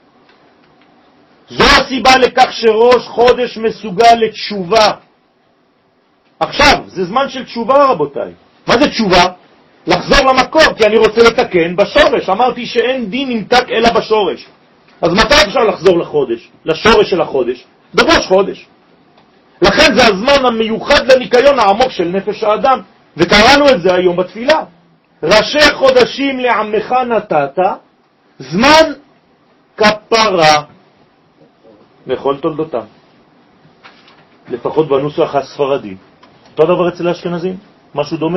זו הסיבה לכך שראש חודש מסוגל לתשובה. עכשיו, זה זמן של תשובה, רבותיי. מה זה תשובה? לחזור למקור, כי אני רוצה לתקן בשורש. אמרתי שאין דין נמתק אלא בשורש. אז מתי אפשר לחזור לחודש? לשורש של החודש? בראש חודש. לכן זה הזמן המיוחד לניקיון העמוק של נפש האדם. וקראנו את זה היום בתפילה. ראשי חודשים לעמך נתת, זמן כפרה לכל תולדותם. לפחות בנוסח הספרדי. אותו דבר אצל האשכנזים? משהו דומה?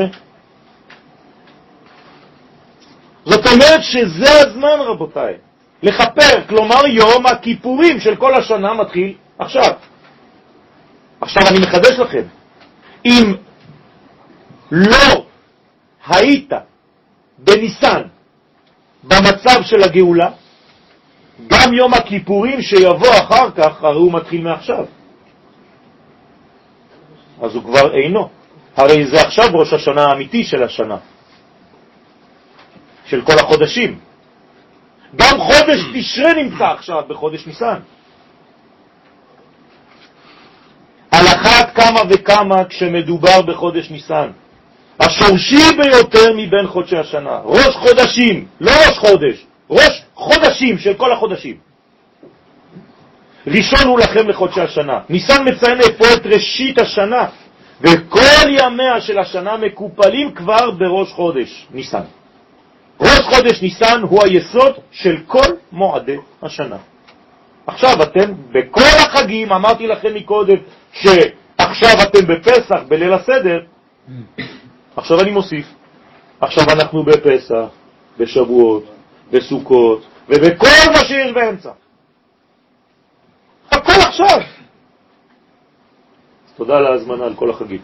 זאת אומרת שזה הזמן, רבותיי, לכפר. כלומר יום הכיפורים של כל השנה מתחיל עכשיו. עכשיו אני מחדש לכם, אם לא היית בניסן במצב של הגאולה, גם יום הכיפורים שיבוא אחר כך, הרי הוא מתחיל מעכשיו. אז הוא כבר אינו. הרי זה עכשיו ראש השנה האמיתי של השנה, של כל החודשים. גם חודש תשרה נמצא עכשיו בחודש ניסן. על אחת כמה וכמה כשמדובר בחודש ניסן, השורשי ביותר מבין חודשי השנה. ראש חודשים, לא ראש חודש, ראש חודשים של כל החודשים. ראשון הוא לכם לחודשי השנה. ניסן מציין פה את ראשית השנה, וכל ימיה של השנה מקופלים כבר בראש חודש ניסן. ראש חודש ניסן הוא היסוד של כל מועדי השנה. עכשיו אתם בכל החגים, אמרתי לכם מקודם שעכשיו אתם בפסח, בליל הסדר, עכשיו אני מוסיף, עכשיו אנחנו בפסח, בשבועות, בסוכות, ובכל מה שיש באמצע. הכל עכשיו. תודה על ההזמנה על כל החגים.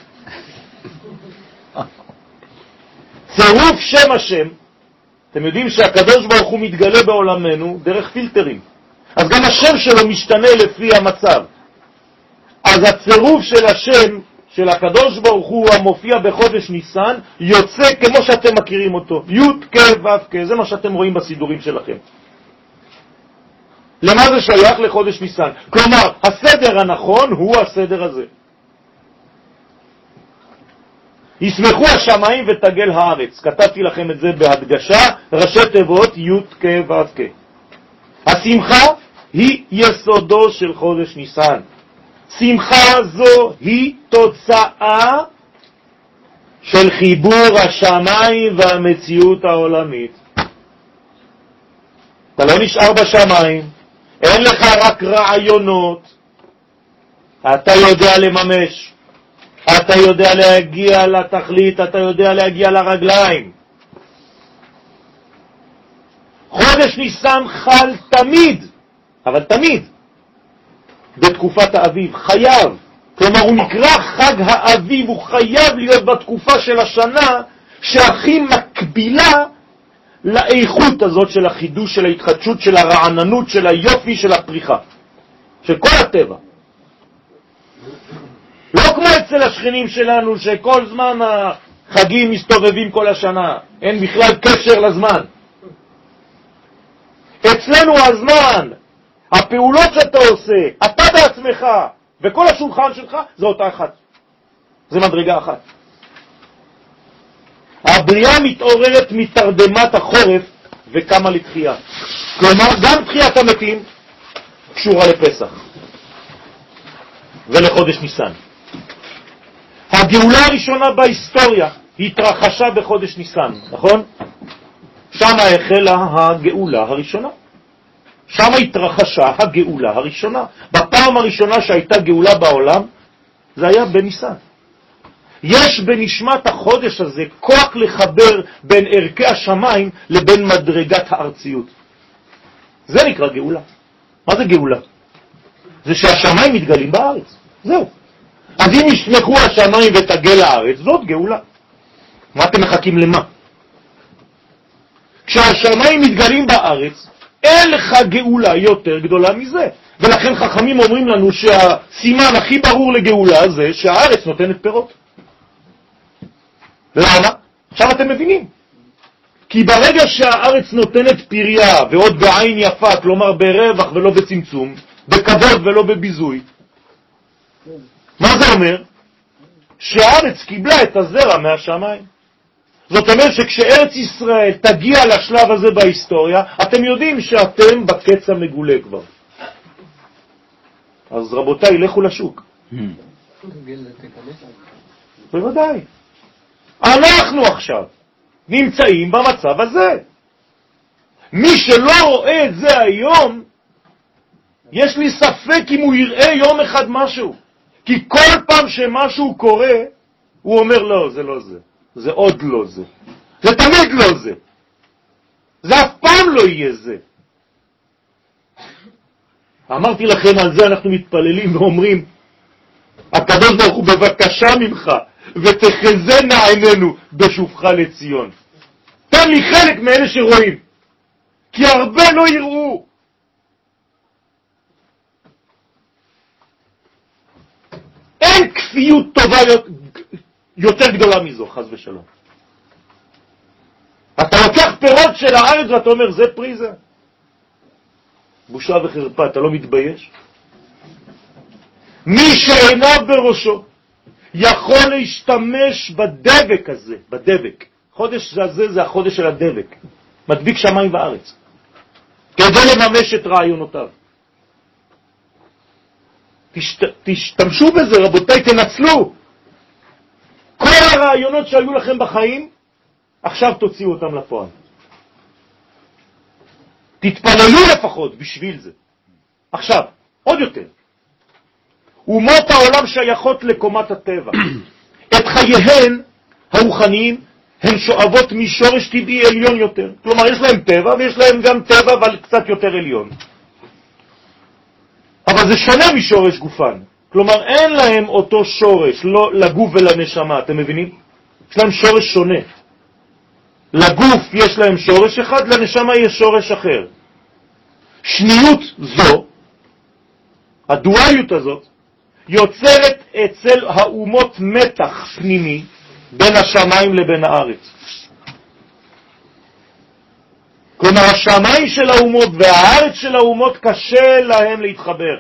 צירוף שם השם, אתם יודעים שהקדוש ברוך הוא מתגלה בעולמנו דרך פילטרים. אז גם השם שלו משתנה לפי המצב. אז הצירוף של השם של הקדוש ברוך הוא המופיע בחודש ניסן יוצא כמו שאתם מכירים אותו. י' כ' ו' כ', זה מה שאתם רואים בסידורים שלכם. למה זה שייך? לחודש ניסן. כלומר, הסדר הנכון הוא הסדר הזה. ישמחו השמיים ותגל הארץ. כתבתי לכם את זה בהדגשה, ראשי תיבות י' כ' ו' כ'. השמחה היא יסודו של חודש ניסן. שמחה זו היא תוצאה של חיבור השמיים והמציאות העולמית. אתה לא נשאר בשמיים, אין לך רק רעיונות, אתה יודע לממש, אתה יודע להגיע לתכלית, אתה יודע להגיע לרגליים. חודש ניסן חל תמיד, אבל תמיד, בתקופת האביב, חייב. כלומר הוא נקרא חג האביב, הוא חייב להיות בתקופה של השנה שהכי מקבילה לאיכות הזאת של החידוש, של ההתחדשות, של הרעננות, של היופי, של הפריחה, של כל הטבע. לא כמו אצל השכנים שלנו שכל זמן החגים מסתובבים כל השנה, אין בכלל קשר לזמן. אצלנו הזמן, הפעולות שאתה עושה, אתה בעצמך, וכל השולחן שלך זה אותה אחת. זה מדרגה אחת. הבריאה מתעוררת מתרדמת החורף וקמה לתחייה. כלומר, גם תחיית המתים קשורה לפסח ולחודש ניסן. הגאולה הראשונה בהיסטוריה התרחשה בחודש ניסן, נכון? שם החלה הגאולה הראשונה. שם התרחשה הגאולה הראשונה. בפעם הראשונה שהייתה גאולה בעולם, זה היה בניסן. יש בנשמת החודש הזה כוח לחבר בין ערכי השמיים לבין מדרגת הארציות. זה נקרא גאולה. מה זה גאולה? זה שהשמיים מתגלים בארץ. זהו. אז אם ישמחו השמיים ותגל הארץ, זאת גאולה. מה אתם מחכים למה? כשהשמיים מתגלים בארץ, אין לך גאולה יותר גדולה מזה. ולכן חכמים אומרים לנו שהסימן הכי ברור לגאולה זה שהארץ נותנת פירות. למה? עכשיו אתם מבינים. כי ברגע שהארץ נותנת פריה, ועוד בעין יפה, כלומר ברווח ולא בצמצום, בכבוד ולא בביזוי, מה זה אומר? שהארץ קיבלה את הזרע מהשמיים. זאת אומרת שכשארץ ישראל תגיע לשלב הזה בהיסטוריה, אתם יודעים שאתם בקץ המגולה כבר. אז רבותיי, לכו לשוק. בוודאי. אנחנו עכשיו נמצאים במצב הזה. מי שלא רואה את זה היום, יש לי ספק אם הוא יראה יום אחד משהו. כי כל פעם שמשהו קורה, הוא אומר לא, זה לא זה. זה עוד לא זה. זה תמיד לא זה. זה אף פעם לא יהיה זה. אמרתי לכם על זה, אנחנו מתפללים ואומרים, הקדוש ברוך הוא בבקשה ממך, ותחזנה עינינו בשובך לציון. תן לי חלק מאלה שרואים, כי הרבה לא יראו. אין כפיות טובה יותר גדולה מזו, חס ושלום. אתה לוקח פירות של הארץ ואתה אומר, זה פרי זה. בושה וחרפה, אתה לא מתבייש? מי שעיניו בראשו יכול להשתמש בדבק הזה, בדבק. חודש הזה זה החודש של הדבק. מדביק שמיים וארץ. כדי לממש את רעיונותיו. תשתמשו בזה, רבותיי, תנצלו. כל הרעיונות שהיו לכם בחיים, עכשיו תוציאו אותם לפועל. תתפללו לפחות בשביל זה. עכשיו, עוד יותר. אומות העולם שייכות לקומת הטבע. את חייהן הרוחניים הן שואבות משורש טבעי עליון יותר. כלומר, יש להם טבע ויש להם גם טבע אבל קצת יותר עליון. אבל זה שונה משורש גופן. כלומר, אין להם אותו שורש, לא לגוף ולנשמה, אתם מבינים? יש להם שורש שונה. לגוף יש להם שורש אחד, לנשמה יש שורש אחר. שניות זו, הדואליות הזאת, יוצרת אצל האומות מתח פנימי בין השמיים לבין הארץ. כלומר, השמיים של האומות והארץ של האומות קשה להם להתחבר.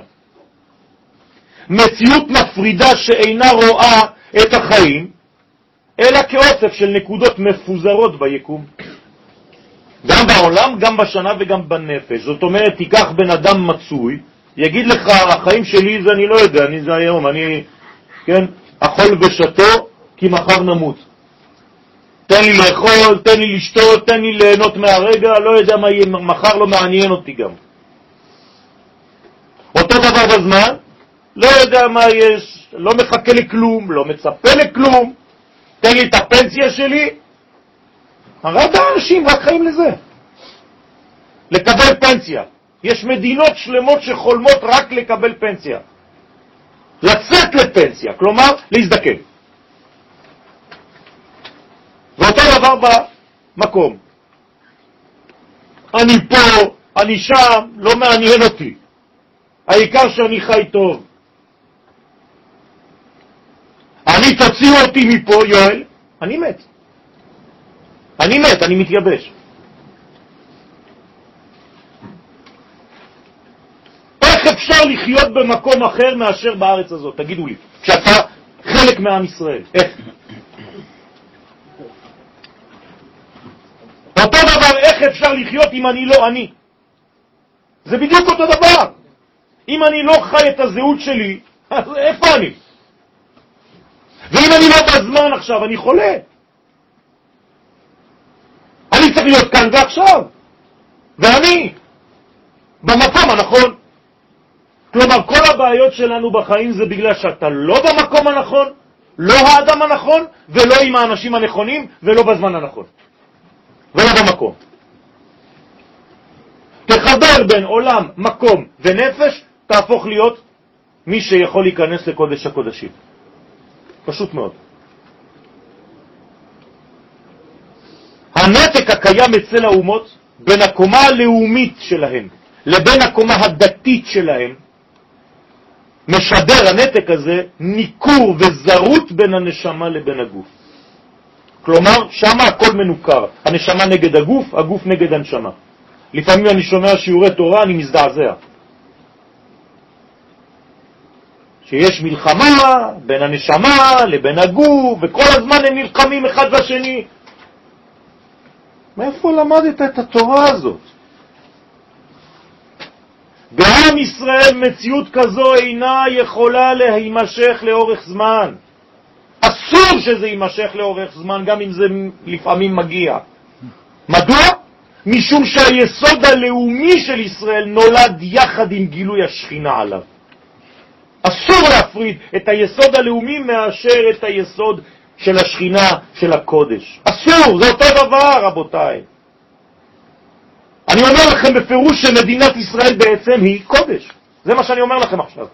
מציאות מפרידה שאינה רואה את החיים, אלא כאוסף של נקודות מפוזרות ביקום. גם בעולם, גם בשנה וגם בנפש. זאת אומרת, תיקח בן אדם מצוי, יגיד לך, החיים שלי זה אני לא יודע, אני זה היום, אני, כן, אכול ושתו, כי מחר נמות. תן לי לאכול, תן לי לשתות, תן לי ליהנות מהרגע, לא יודע מה יהיה, מחר לא מעניין אותי גם. אותו דבר בזמן, לא יודע מה יש, לא מחכה לכלום, לא מצפה לכלום, תן לי את הפנסיה שלי. הרבה אנשים רק חיים לזה. לקבל פנסיה. יש מדינות שלמות שחולמות רק לקבל פנסיה. לצאת לפנסיה, כלומר להזדקן. ואותו דבר במקום. אני פה, אני שם, לא מעניין אותי. העיקר שאני חי טוב. אני תוציאו אותי מפה, יואל, אני מת. אני מת, אני מתייבש. איך אפשר לחיות במקום אחר מאשר בארץ הזאת? תגידו לי, כשאתה חלק מעם ישראל, איך? אותו דבר, איך אפשר לחיות אם אני לא אני? זה בדיוק אותו דבר. אם אני לא חי את הזהות שלי, אז איפה אני? ואם אני לא בזמן עכשיו, אני חולה. אני צריך להיות כאן ועכשיו. ואני במקום הנכון. כלומר, כל הבעיות שלנו בחיים זה בגלל שאתה לא במקום הנכון, לא האדם הנכון, ולא עם האנשים הנכונים, ולא בזמן הנכון. ולא במקום. תחבר בין עולם, מקום ונפש, תהפוך להיות מי שיכול להיכנס לקודש הקודשים. פשוט מאוד. הנתק הקיים אצל האומות בין הקומה הלאומית שלהם לבין הקומה הדתית שלהם משדר הנתק הזה ניכור וזרות בין הנשמה לבין הגוף. כלומר, שמה הכל מנוכר. הנשמה נגד הגוף, הגוף נגד הנשמה. לפעמים אני שומע שיעורי תורה, אני מזדעזע. שיש מלחמה בין הנשמה לבין הגוף, וכל הזמן הם נלחמים אחד בשני. מאיפה למדת את התורה הזאת? בעם ישראל מציאות כזו אינה יכולה להימשך לאורך זמן. אסור שזה יימשך לאורך זמן, גם אם זה לפעמים מגיע. מדוע? משום שהיסוד הלאומי של ישראל נולד יחד עם גילוי השכינה עליו. אסור להפריד את היסוד הלאומי מאשר את היסוד של השכינה, של הקודש. אסור, זה אותו דבר, רבותיי. אני אומר לכם בפירוש שמדינת ישראל בעצם היא קודש. זה מה שאני אומר לכם עכשיו.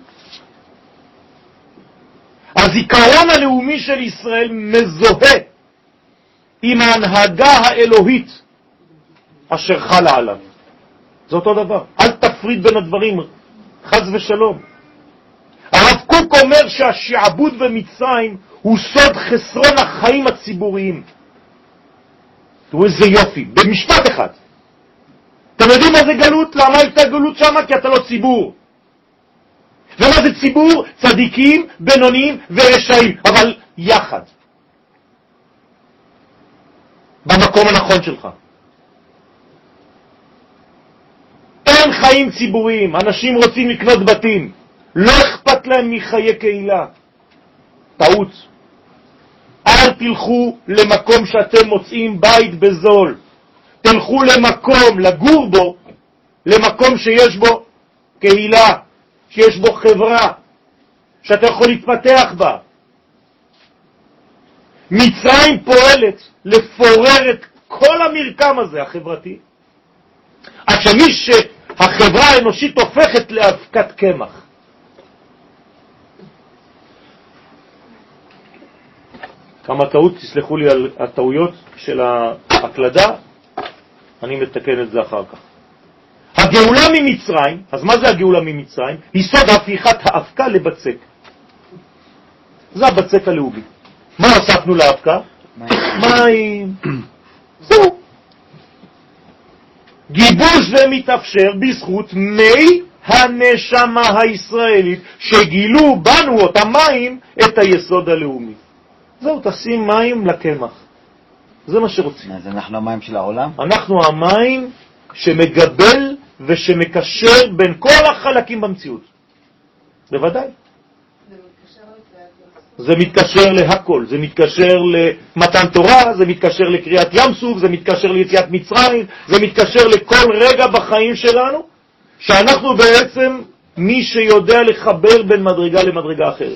הזיכרון הלאומי של ישראל מזוהה עם ההנהגה האלוהית אשר חלה עליו. זה אותו דבר. אל תפריד בין הדברים, חס ושלום. הרב קוק אומר שהשעבוד במצרים הוא סוד חסרון החיים הציבוריים. תראו איזה יופי, במשפט אחד. אתם יודעים מה זה גלות? למה הייתה גלות שם? כי אתה לא ציבור. ומה זה ציבור? צדיקים, בינוניים ורשעים, אבל יחד. במקום הנכון שלך. אין חיים ציבוריים, אנשים רוצים לקנות בתים, לא אכפת להם מחיי קהילה. טעות. אל תלכו למקום שאתם מוצאים בית בזול. תלכו למקום, לגור בו, למקום שיש בו קהילה, שיש בו חברה, שאתה יכול להתפתח בה. מצרים פועלת לפורר את כל המרקם הזה החברתי, עד שמי שהחברה האנושית הופכת לאבקת קמח. כמה טעות, תסלחו לי על הטעויות של ההקלדה, אני מתקן את זה אחר כך. הגאולה ממצרים, אז מה זה הגאולה ממצרים? יסוד הפיכת האבקה לבצק. זה הבצק הלאומי. מה הוספנו לאבקה? מים. זהו. גיבוש זה מתאפשר בזכות מי הנשמה הישראלית שגילו בנו אותם מים את היסוד הלאומי. זהו, תשים מים לקמח. זה מה שרוצים. אז אנחנו המים של העולם? אנחנו המים שמגבל ושמקשר בין כל החלקים במציאות. בוודאי. זה מתקשר להכל. זה מתקשר למתן תורה, זה מתקשר לקריאת ים סוף, זה מתקשר ליציאת מצרים, זה מתקשר לכל רגע בחיים שלנו, שאנחנו בעצם מי שיודע לחבר בין מדרגה למדרגה אחרת.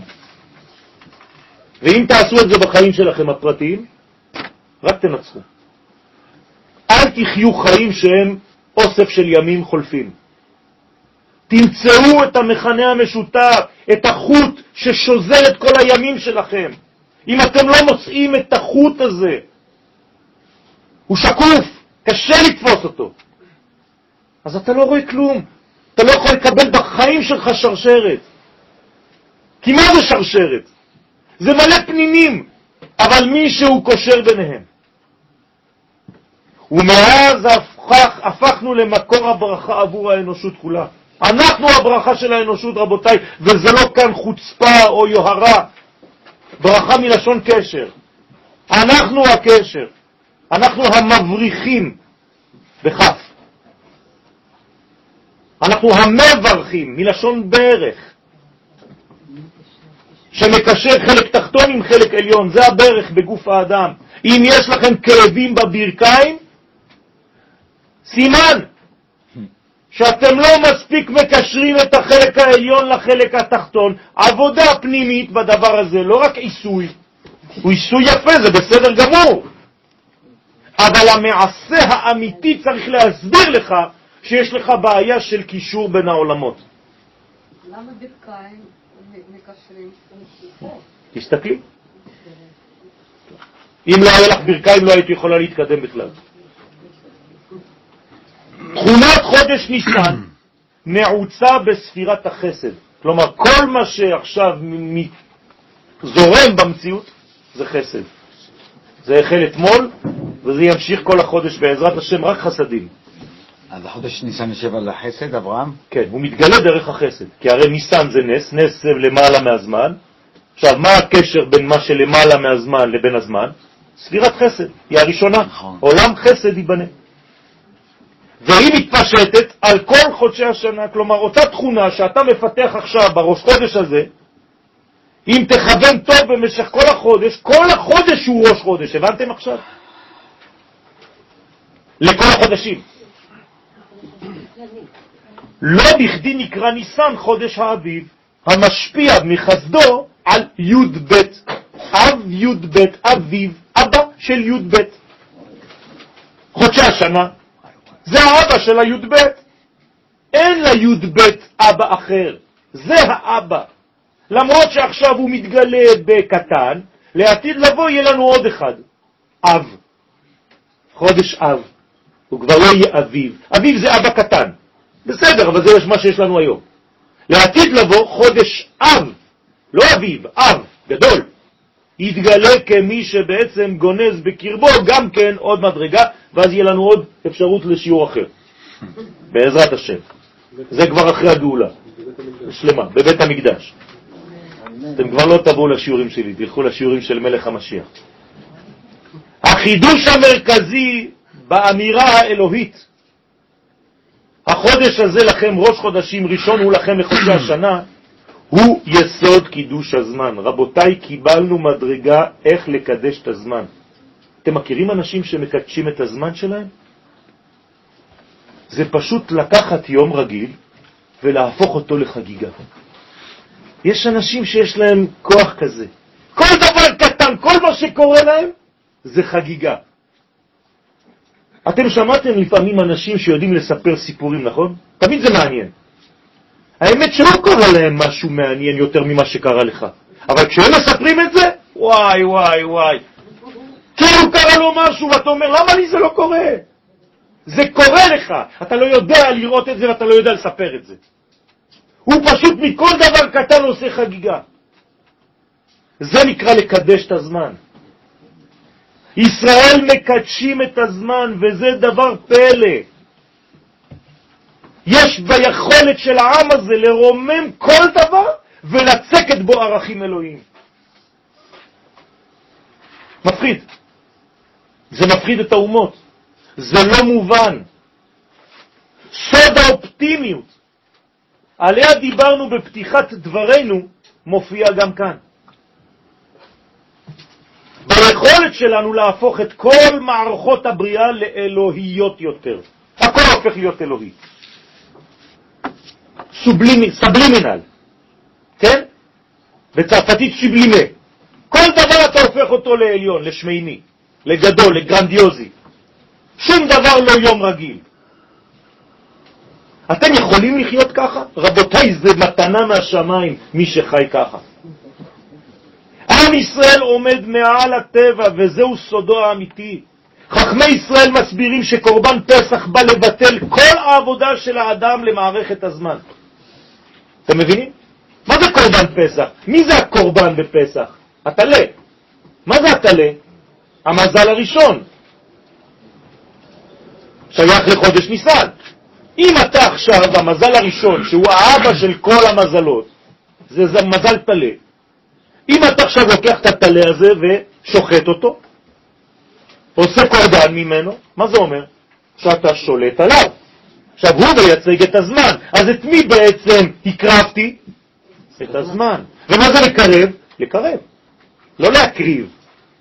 ואם תעשו את זה בחיים שלכם הפרטיים, רק תנצחו. אל תחיו חיים שהם אוסף של ימים חולפים. תמצאו את המכנה המשותף, את החוט ששוזר את כל הימים שלכם. אם אתם לא מוצאים את החוט הזה, הוא שקוף, קשה לתפוס אותו, אז אתה לא רואה כלום. אתה לא יכול לקבל בחיים שלך שרשרת. כי מה זה שרשרת? זה מלא פנינים, אבל מישהו קושר ביניהם. ומאז הפכנו למקור הברכה עבור האנושות כולה. אנחנו הברכה של האנושות, רבותיי, וזה לא כאן חוצפה או יוהרה. ברכה מלשון קשר. אנחנו הקשר. אנחנו המבריחים בכף. אנחנו המברכים מלשון ברך, שמקשר חלק תחתון עם חלק עליון. זה הברך בגוף האדם. אם יש לכם כאבים בברכיים, סימן שאתם לא מספיק מקשרים את החלק העליון לחלק התחתון. עבודה פנימית בדבר הזה, לא רק עיסוי. הוא עיסוי יפה, זה בסדר גמור. אבל המעשה האמיתי צריך להסביר לך שיש לך בעיה של קישור בין העולמות. למה ברכיים מקשרים? תסתכלי. אם לא היה לך ברכיים לא היית יכולה להתקדם בכלל. תכונת חודש ניסן נעוצה בספירת החסד. כלומר, כל מה שעכשיו זורם במציאות זה חסד. זה החל אתמול וזה ימשיך כל החודש בעזרת השם, רק חסדים. אז החודש ניסן יושב על החסד, אברהם? כן, הוא מתגלה דרך החסד. כי הרי ניסן זה נס, נס זה למעלה מהזמן. עכשיו, מה הקשר בין מה שלמעלה מהזמן לבין הזמן? ספירת חסד, היא הראשונה. נכון. עולם חסד ייבנה. והיא מתפשטת על כל חודשי השנה. כלומר, אותה תכונה שאתה מפתח עכשיו בראש חודש הזה, אם תכוון טוב במשך כל החודש הוא ראש חודש. הבנתם עכשיו? לכל החודשים. לא בכדי נקרא ניסן חודש האביב, המשפיע מחסדו על י' ב' אב י' ב' אביב, אבא של י' ב'. חודשי השנה זה האבא של הי' ב'. אין לי' ב' אבא אחר, זה האבא. למרות שעכשיו הוא מתגלה בקטן, לעתיד לבוא יהיה לנו עוד אחד, אב. חודש אב. הוא כבר לא יהיה אביב. אביב זה אבא קטן. בסדר, אבל זה מה שיש לנו היום. לעתיד לבוא חודש אב, לא אביב, אב, גדול. יתגלה כמי שבעצם גונז בקרבו גם כן עוד מדרגה, ואז יהיה לנו עוד אפשרות לשיעור אחר. בעזרת השם. זה כבר אחרי הגאולה. שלמה, בבית המקדש. אתם כבר לא תבואו לשיעורים שלי, תלכו לשיעורים של מלך המשיח. החידוש המרכזי באמירה האלוהית, החודש הזה לכם ראש חודשים, ראשון הוא לכם לחודשי השנה, הוא יסוד קידוש הזמן. רבותיי, קיבלנו מדרגה איך לקדש את הזמן. אתם מכירים אנשים שמקדשים את הזמן שלהם? זה פשוט לקחת יום רגיל ולהפוך אותו לחגיגה. יש אנשים שיש להם כוח כזה. כל דבר קטן, כל מה שקורה להם, זה חגיגה. אתם שמעתם לפעמים אנשים שיודעים לספר סיפורים, נכון? תמיד זה מעניין. האמת שלא קורה להם משהו מעניין יותר ממה שקרה לך. אבל כשהם מספרים את זה, וואי וואי וואי. כאילו קרה לו משהו ואתה אומר, למה לי זה לא קורה? זה קורה לך. אתה לא יודע לראות את זה ואתה לא יודע לספר את זה. הוא פשוט מכל דבר קטן עושה חגיגה. זה נקרא לקדש את הזמן. ישראל מקדשים את הזמן, וזה דבר פלא. יש ביכולת של העם הזה לרומם כל דבר ולצקת בו ערכים אלוהיים. מפחיד. זה מפחיד את האומות. זה לא מובן. סוד האופטימיות עליה דיברנו בפתיחת דברינו מופיע גם כאן. ביכולת שלנו להפוך את כל מערכות הבריאה לאלוהיות יותר. הכל הופך להיות אלוהי. סובלימינל. כן? בצרפתית שיבלימה. כל דבר אתה הופך אותו לעליון, לשמיני, לגדול, לגרנדיוזי. שום דבר לא יום רגיל. אתם יכולים לחיות ככה? רבותיי, זה מתנה מהשמיים, מי שחי ככה. עם ישראל עומד מעל הטבע, וזהו סודו האמיתי. חכמי ישראל מסבירים שקורבן פסח בא לבטל כל העבודה של האדם למערכת הזמן. אתם מבינים? מה זה קורבן פסח? מי זה הקורבן בפסח? התלה. מה זה התלה? המזל הראשון. שייך לחודש ניסן. אם אתה עכשיו, המזל הראשון, שהוא האבא של כל המזלות, זה מזל תלה. אם אתה עכשיו לוקח את התלה הזה ושוחט אותו, עושה קורבן ממנו, מה זה אומר? שאתה שולט עליו. עכשיו הוא מייצג את הזמן. אז את מי בעצם הקרבתי? את הזמן. ומה זה לקרב? לקרב. לא להקריב.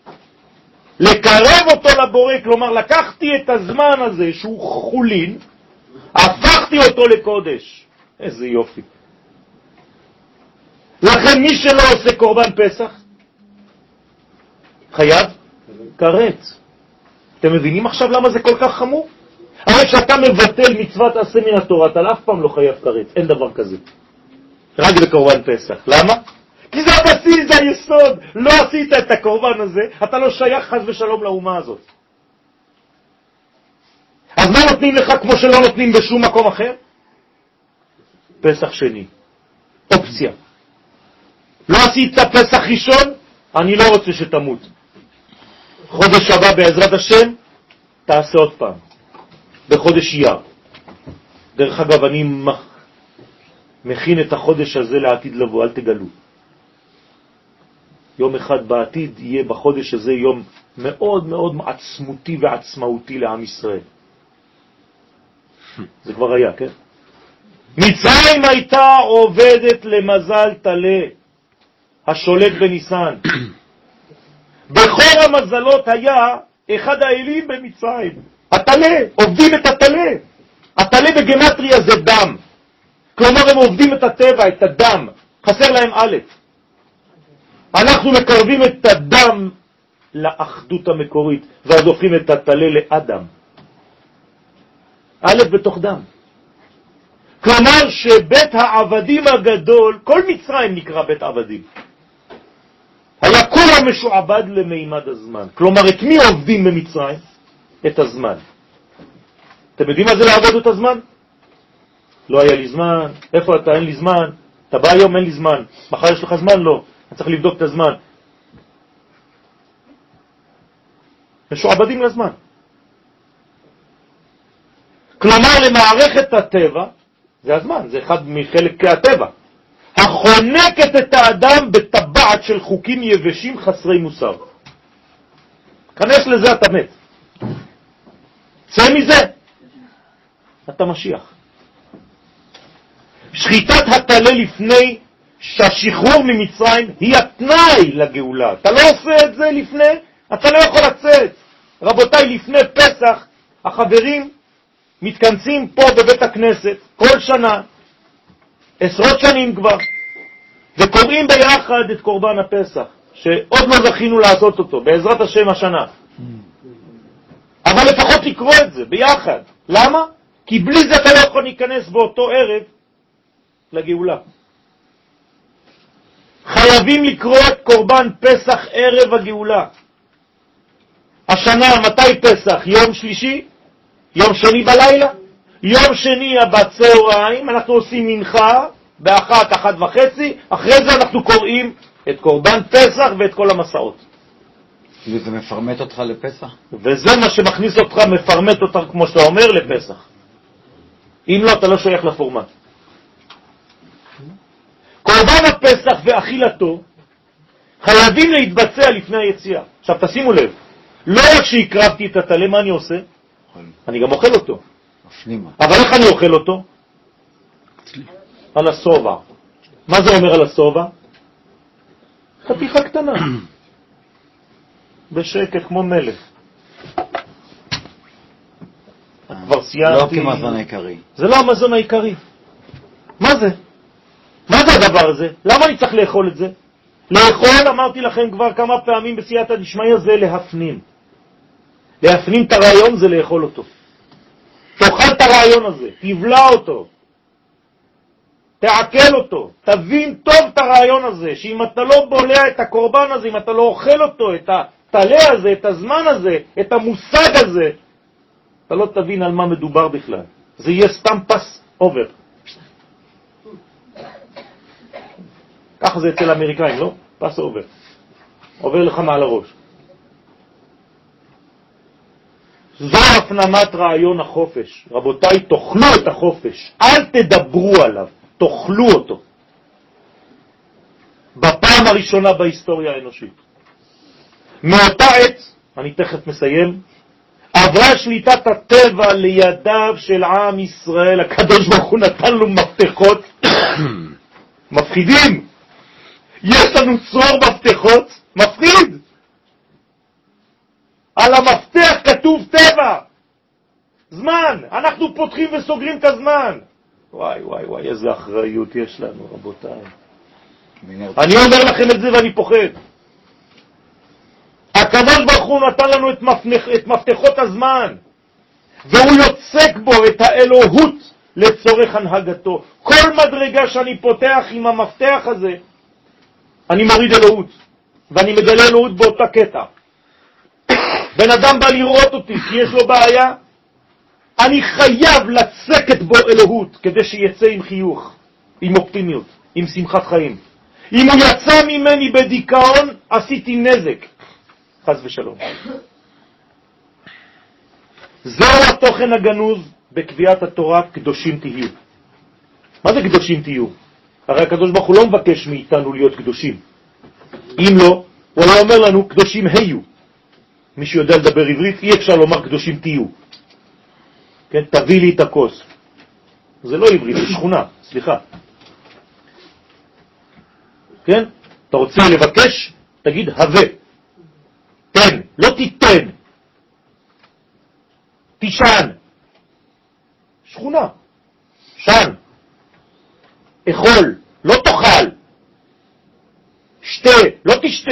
לקרב אותו לבורא, כלומר לקחתי את הזמן הזה שהוא חולין, הפכתי אותו לקודש. איזה יופי. לכן מי שלא עושה קורבן פסח, חייב קרץ. אתם מבינים עכשיו למה זה כל כך חמור? הרי שאתה מבטל מצוות עשה מן התורה, אתה אף פעם לא חייב קרץ, אין דבר כזה. רק בקורבן פסח. למה? כי זה הבסיס, זה היסוד. לא עשית את הקורבן הזה, אתה לא שייך חס ושלום לאומה הזאת. אז מה נותנים לך כמו שלא נותנים בשום מקום אחר? פסח שני. אופציה. לא עשית פסח ראשון, אני לא רוצה שתמות. חודש הבא בעזרת השם, תעשה עוד פעם. בחודש אייר. דרך אגב, אני מכין את החודש הזה לעתיד לבוא, אל תגלו. יום אחד בעתיד יהיה בחודש הזה יום מאוד מאוד עצמותי ועצמאותי לעם ישראל. זה כבר היה, כן? מצרים הייתה עובדת למזל תלה, השולט בניסן. בכל המזלות היה אחד האלים במצרים, התלה, עובדים את התלה. התלה בגמטריה זה דם. כלומר הם עובדים את הטבע, את הדם. חסר להם א'. אנחנו מקרבים את הדם לאחדות המקורית, ואז הופכים את התלה לאדם. א' בתוך דם. כלומר שבית העבדים הגדול, כל מצרים נקרא בית עבדים, היה כולה משועבד למימד הזמן. כלומר, את מי עובדים במצרים? את הזמן. אתם יודעים מה זה לעבוד את הזמן? לא היה לי זמן. איפה אתה? אין לי זמן. אתה בא היום, אין לי זמן. מחר יש לך זמן? לא. אני צריך לבדוק את הזמן. משועבדים לזמן. כלומר, למערכת הטבע, זה הזמן, זה אחד מחלקי הטבע, החונקת את האדם בטבעת של חוקים יבשים חסרי מוסר. כנס לזה אתה מת. צא מזה, אתה משיח. שחיטת התלה לפני שהשחרור ממצרים היא התנאי לגאולה. אתה לא עושה את זה לפני, אתה לא יכול לצאת. רבותיי, לפני פסח החברים מתכנסים פה בבית הכנסת כל שנה, עשרות שנים כבר, וקוראים ביחד את קורבן הפסח, שעוד לא זכינו לעשות אותו, בעזרת השם השנה. אבל לפחות לקרוא את זה ביחד. למה? כי בלי זה אתה לא יכול להיכנס באותו ערב לגאולה. חייבים לקרוא את קורבן פסח ערב הגאולה. השנה, מתי פסח? יום שלישי? יום שני בלילה? יום שני בצהריים אנחנו עושים מנחה באחת, 1:30, אחרי זה אנחנו קוראים את קורבן פסח ואת כל המסעות. וזה מפרמט אותך לפסח? וזה מה שמכניס אותך, מפרמט אותך, כמו שאתה אומר, לפסח. אם לא, אתה לא שייך לפורמט. קורבן הפסח ואכילתו חייבים להתבצע לפני היציאה. עכשיו תשימו לב, לא רק שהקרבתי את התלה, מה אני עושה? אני גם אוכל אותו. אבל איך אני אוכל אותו? על הסובה. מה זה אומר על הסובה? חתיכה קטנה. בשקט כמו מלך. כבר סיימתי. לא כמזון העיקרי. זה לא המזון העיקרי. מה זה? מה זה הדבר הזה? למה אני צריך לאכול את זה? לאכול, אמרתי לכם כבר כמה פעמים בסייעתא דשמיא, זה להפנים. להפנים את הרעיון זה לאכול אותו. תאכל את הרעיון הזה, תבלע אותו, תעכל אותו, תבין טוב את הרעיון הזה, שאם אתה לא בולע את הקורבן הזה, אם אתה לא אוכל אותו, את התלה הזה, את הזמן הזה, את המושג הזה, אתה לא תבין על מה מדובר בכלל. זה יהיה סתם פס אובר. ככה זה אצל האמריקאים, לא? פס אובר. עובר לך מעל הראש. זו הפנמת רעיון החופש. רבותיי, תאכלו את החופש, אל תדברו עליו, תאכלו אותו. בפעם הראשונה בהיסטוריה האנושית. מאותה עת, אני תכף מסיים, עברה שליטת הטבע לידיו של עם ישראל. הקדוש ברוך הוא נתן לו מפתחות מפחידים. יש לנו צרור מפתחות מפחיד. על המפתח כתוב טבע, זמן. אנחנו פותחים וסוגרים את הזמן. וואי וואי וואי, איזה אחריות יש לנו, רבותיי. אני אומר לכם את זה ואני פוחד. הקדוש ברוך הוא נתן לנו את מפתחות הזמן, והוא יוצק בו את האלוהות לצורך הנהגתו. כל מדרגה שאני פותח עם המפתח הזה, אני מוריד אלוהות, ואני מגלה אלוהות באותה קטע. בן אדם בא לראות אותי כי יש לו בעיה, אני חייב לצקת בו אלוהות כדי שיצא עם חיוך, עם אופטימיות, עם שמחת חיים. אם הוא יצא ממני בדיכאון, עשיתי נזק, חס ושלום. זהו התוכן הגנוז בקביעת התורה, קדושים תהיו. מה זה קדושים תהיו? הרי הקדוש ברוך הוא לא מבקש מאיתנו להיות קדושים. אם לא, הוא לא אומר לנו קדושים היו. מי שיודע לדבר עברית, אי אפשר לומר קדושים תהיו. כן, תביא לי את הכוס. זה לא עברית, זה שכונה, סליחה. כן? אתה רוצה לבקש, תגיד הווה. תן, לא תיתן. תישן. שכונה. שן. אכול, לא תאכל. שתה, לא תשתה.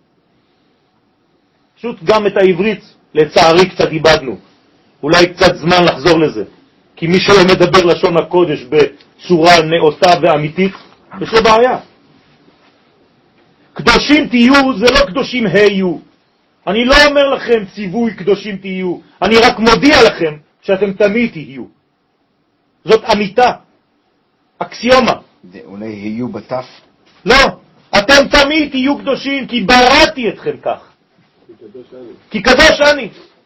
פשוט גם את העברית לצערי קצת איבדנו. אולי קצת זמן לחזור לזה. כי מי שלא מדבר לשון הקודש בצורה נאותה ואמיתית, יש לו בעיה. קדושים תהיו זה לא קדושים היו. אני לא אומר לכם ציווי קדושים תהיו. אני רק מודיע לכם שאתם תמיד תהיו. זאת אמיתה. אקסיומה. זה אולי היו בתף? לא. אתם תמיד תהיו קדושים כי בראתי אתכם כך. כי קדוש אני.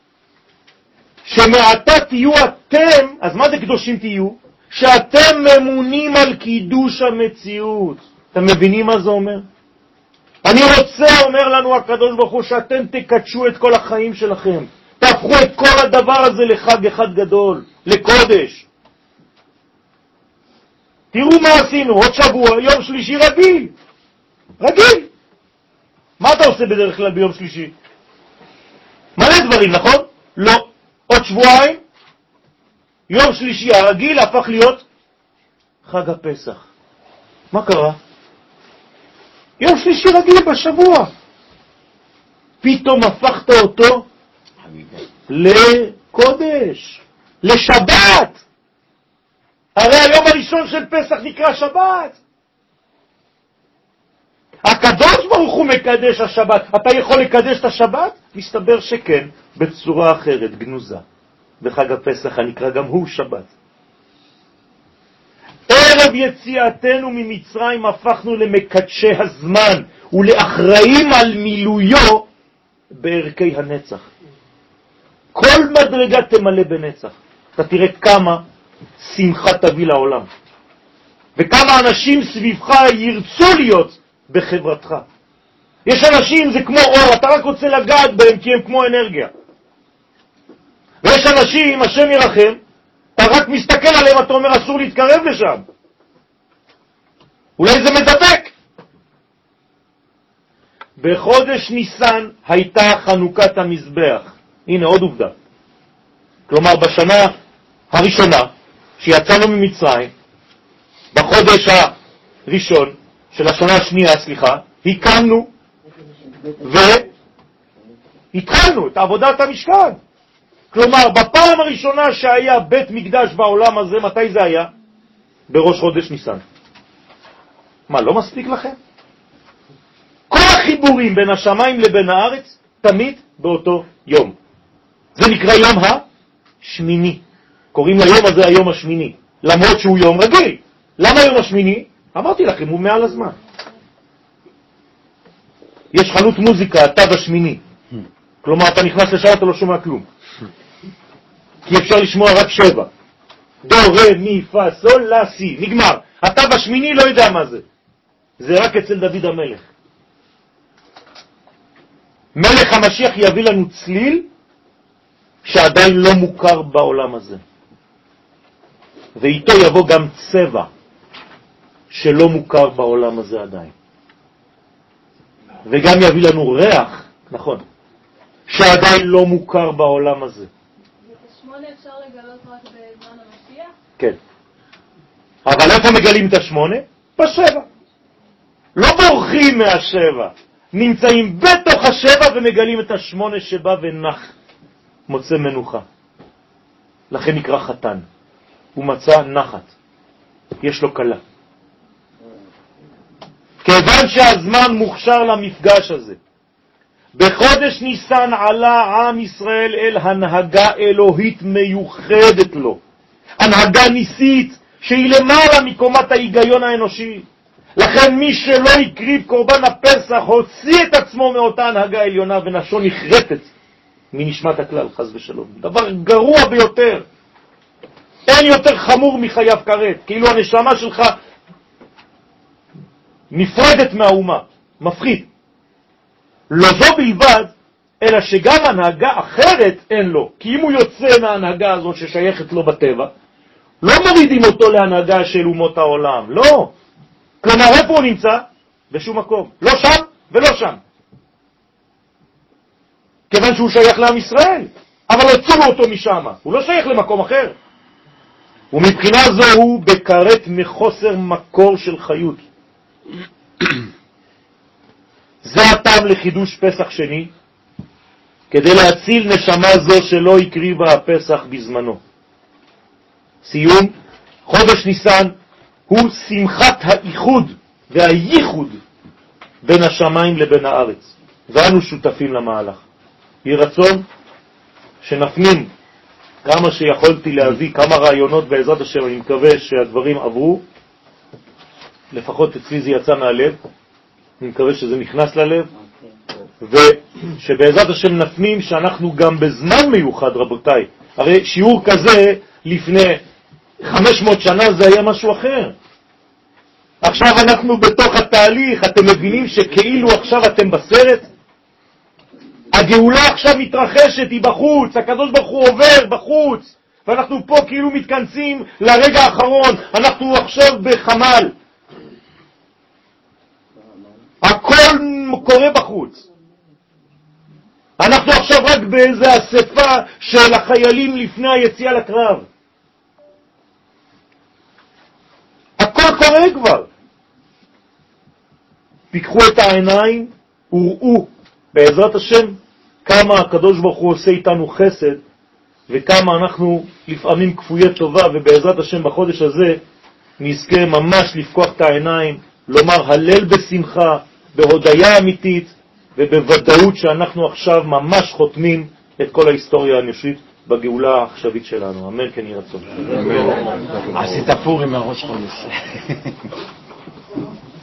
שמעתה תהיו אתם, אז מה זה קדושים תהיו? שאתם ממונים על קידוש המציאות. אתם מבינים מה זה אומר? אני רוצה, אומר לנו הקדוש ברוך הוא, שאתם תקדשו את כל החיים שלכם. תהפכו את כל הדבר הזה לחג אחד גדול, לקודש. תראו מה עשינו, עוד שבוע, יום שלישי רגיל. רגיל. מה אתה עושה בדרך כלל ביום שלישי? מלא דברים, נכון? לא. עוד שבועיים, יום שלישי הרגיל הפך להיות חג הפסח. מה קרה? יום שלישי רגיל בשבוע. פתאום הפכת אותו לקודש, לשבת. הרי היום הראשון של פסח נקרא שבת. הקדוש ברוך הוא מקדש השבת. אתה יכול לקדש את השבת? מסתבר שכן, בצורה אחרת, גנוזה. בחג הפסח הנקרא גם הוא שבת. ערב יציאתנו ממצרים הפכנו למקדשי הזמן ולאחראים על מילויו בערכי הנצח. כל מדרגה תמלא בנצח. אתה תראה כמה שמחה תביא לעולם. וכמה אנשים סביבך ירצו להיות בחברתך. יש אנשים, זה כמו אור, אתה רק רוצה לגעת בהם כי הם כמו אנרגיה. ויש אנשים, השם ירחם, אתה רק מסתכל עליהם, אתה אומר אסור להתקרב לשם. אולי זה מדבק. בחודש ניסן הייתה חנוכת המזבח. הנה עוד עובדה. כלומר בשנה הראשונה שיצאנו ממצרים, בחודש הראשון של השנה השנייה, הקמנו והתחלנו את עבודת המשכן. כלומר, בפעם הראשונה שהיה בית מקדש בעולם הזה, מתי זה היה? בראש חודש ניסן. מה, לא מספיק לכם? כל החיבורים בין השמיים לבין הארץ, תמיד באותו יום. זה נקרא יום השמיני. קוראים ליום הזה היום השמיני, למרות שהוא יום רגיל. למה יום השמיני? אמרתי לכם, הוא מעל הזמן. יש חנות מוזיקה, התו השמיני. כלומר, אתה נכנס לשם, אתה לא שומע כלום. כי אפשר לשמוע רק 7. דו, רה, מי, פה, סול, לה, סי. נגמר. אתה בשמיני לא יודע מה זה. זה רק אצל דוד המלך. מלך המשיח יביא לנו צליל שעדיין לא מוכר בעולם הזה. ואיתו יבוא גם צבע שלא מוכר בעולם הזה עדיין. וגם יביא לנו ריח, נכון, שעדיין לא מוכר בעולם הזה. את 8 אפשר לגלות רק בזמן המשיח? כן. אבל איפה מגלים את 8? ב7. לא בורחים מה7. נמצאים בתוך 7 ומגלים את 8 שבא ונח. מוצא מנוחה. לכן נקרא חתן. הוא מצא נחת. יש לו קלה. כיוון שהזמן מוכשר למפגש הזה, בחודש ניסן עלה עם ישראל אל הנהגה אלוהית מיוחדת לו. הנהגה ניסית שהיא למעלה מקומת ההיגיון האנושי. לכן מי שלא הקריב קורבן הפסח הוציא את עצמו מאותה הנהגה העליונה ונפשו נחרטת מנשמת הכלל, חס ושלום. דבר גרוע ביותר. אין יותר חמור מחייב כרת, כאילו הנשמה שלך נפרדת מהאומה, מפחיד. לא זו בלבד, אלא שגם הנהגה אחרת אין לו, כי אם הוא יוצא מההנהגה הזאת ששייכת לו בטבע, לא מורידים אותו להנהגה של אומות העולם, לא. כלומר, איפה הוא נמצא? בשום מקום. לא שם ולא שם. כיוון שהוא שייך לעם ישראל, אבל הוצאו אותו משם, הוא לא שייך למקום אחר. ומבחינה זו הוא בקרת מחוסר מקור של חיות. זה הטעם לחידוש פסח שני, כדי להציל נשמה זו שלא הקריבה הפסח בזמנו. סיום, חודש ניסן הוא שמחת האיחוד והייחוד בין השמיים לבין הארץ, ואנו שותפים למהלך. יהי רצון שנפנים כמה שיכולתי להביא, כמה רעיונות בעזרת השם. אני מקווה שהדברים עברו, לפחות אצלי זה יצא מהלב, אני מקווה שזה נכנס ללב, ושבעזרת השם נפנים שאנחנו גם בזמן מיוחד, רבותיי. הרי שיעור כזה לפני 500 שנה זה היה משהו אחר. עכשיו אנחנו בתוך התהליך, אתם מבינים שכאילו עכשיו אתם בסרט? הגאולה עכשיו מתרחשת, היא בחוץ, הקדוש ברוך הוא עובר בחוץ, ואנחנו פה כאילו מתכנסים לרגע האחרון, אנחנו עכשיו בחמל. הכל קורה בחוץ. אנחנו עכשיו רק באיזה אספה של החיילים לפני היציאה לקרב. הכל קורה כבר. פיקחו את העיניים וראו בעזרת השם כמה הקדוש ברוך הוא עושה איתנו חסד, וכמה אנחנו לפעמים כפויי טובה, ובעזרת השם בחודש הזה נזכה ממש לפקוח את העיניים, לומר הלל בשמחה, בהודיה אמיתית, ובוודאות שאנחנו עכשיו ממש חותמים את כל ההיסטוריה האנושית בגאולה העכשווית שלנו. אמן כן יהי רצון. עשית פורים מהראש חודש.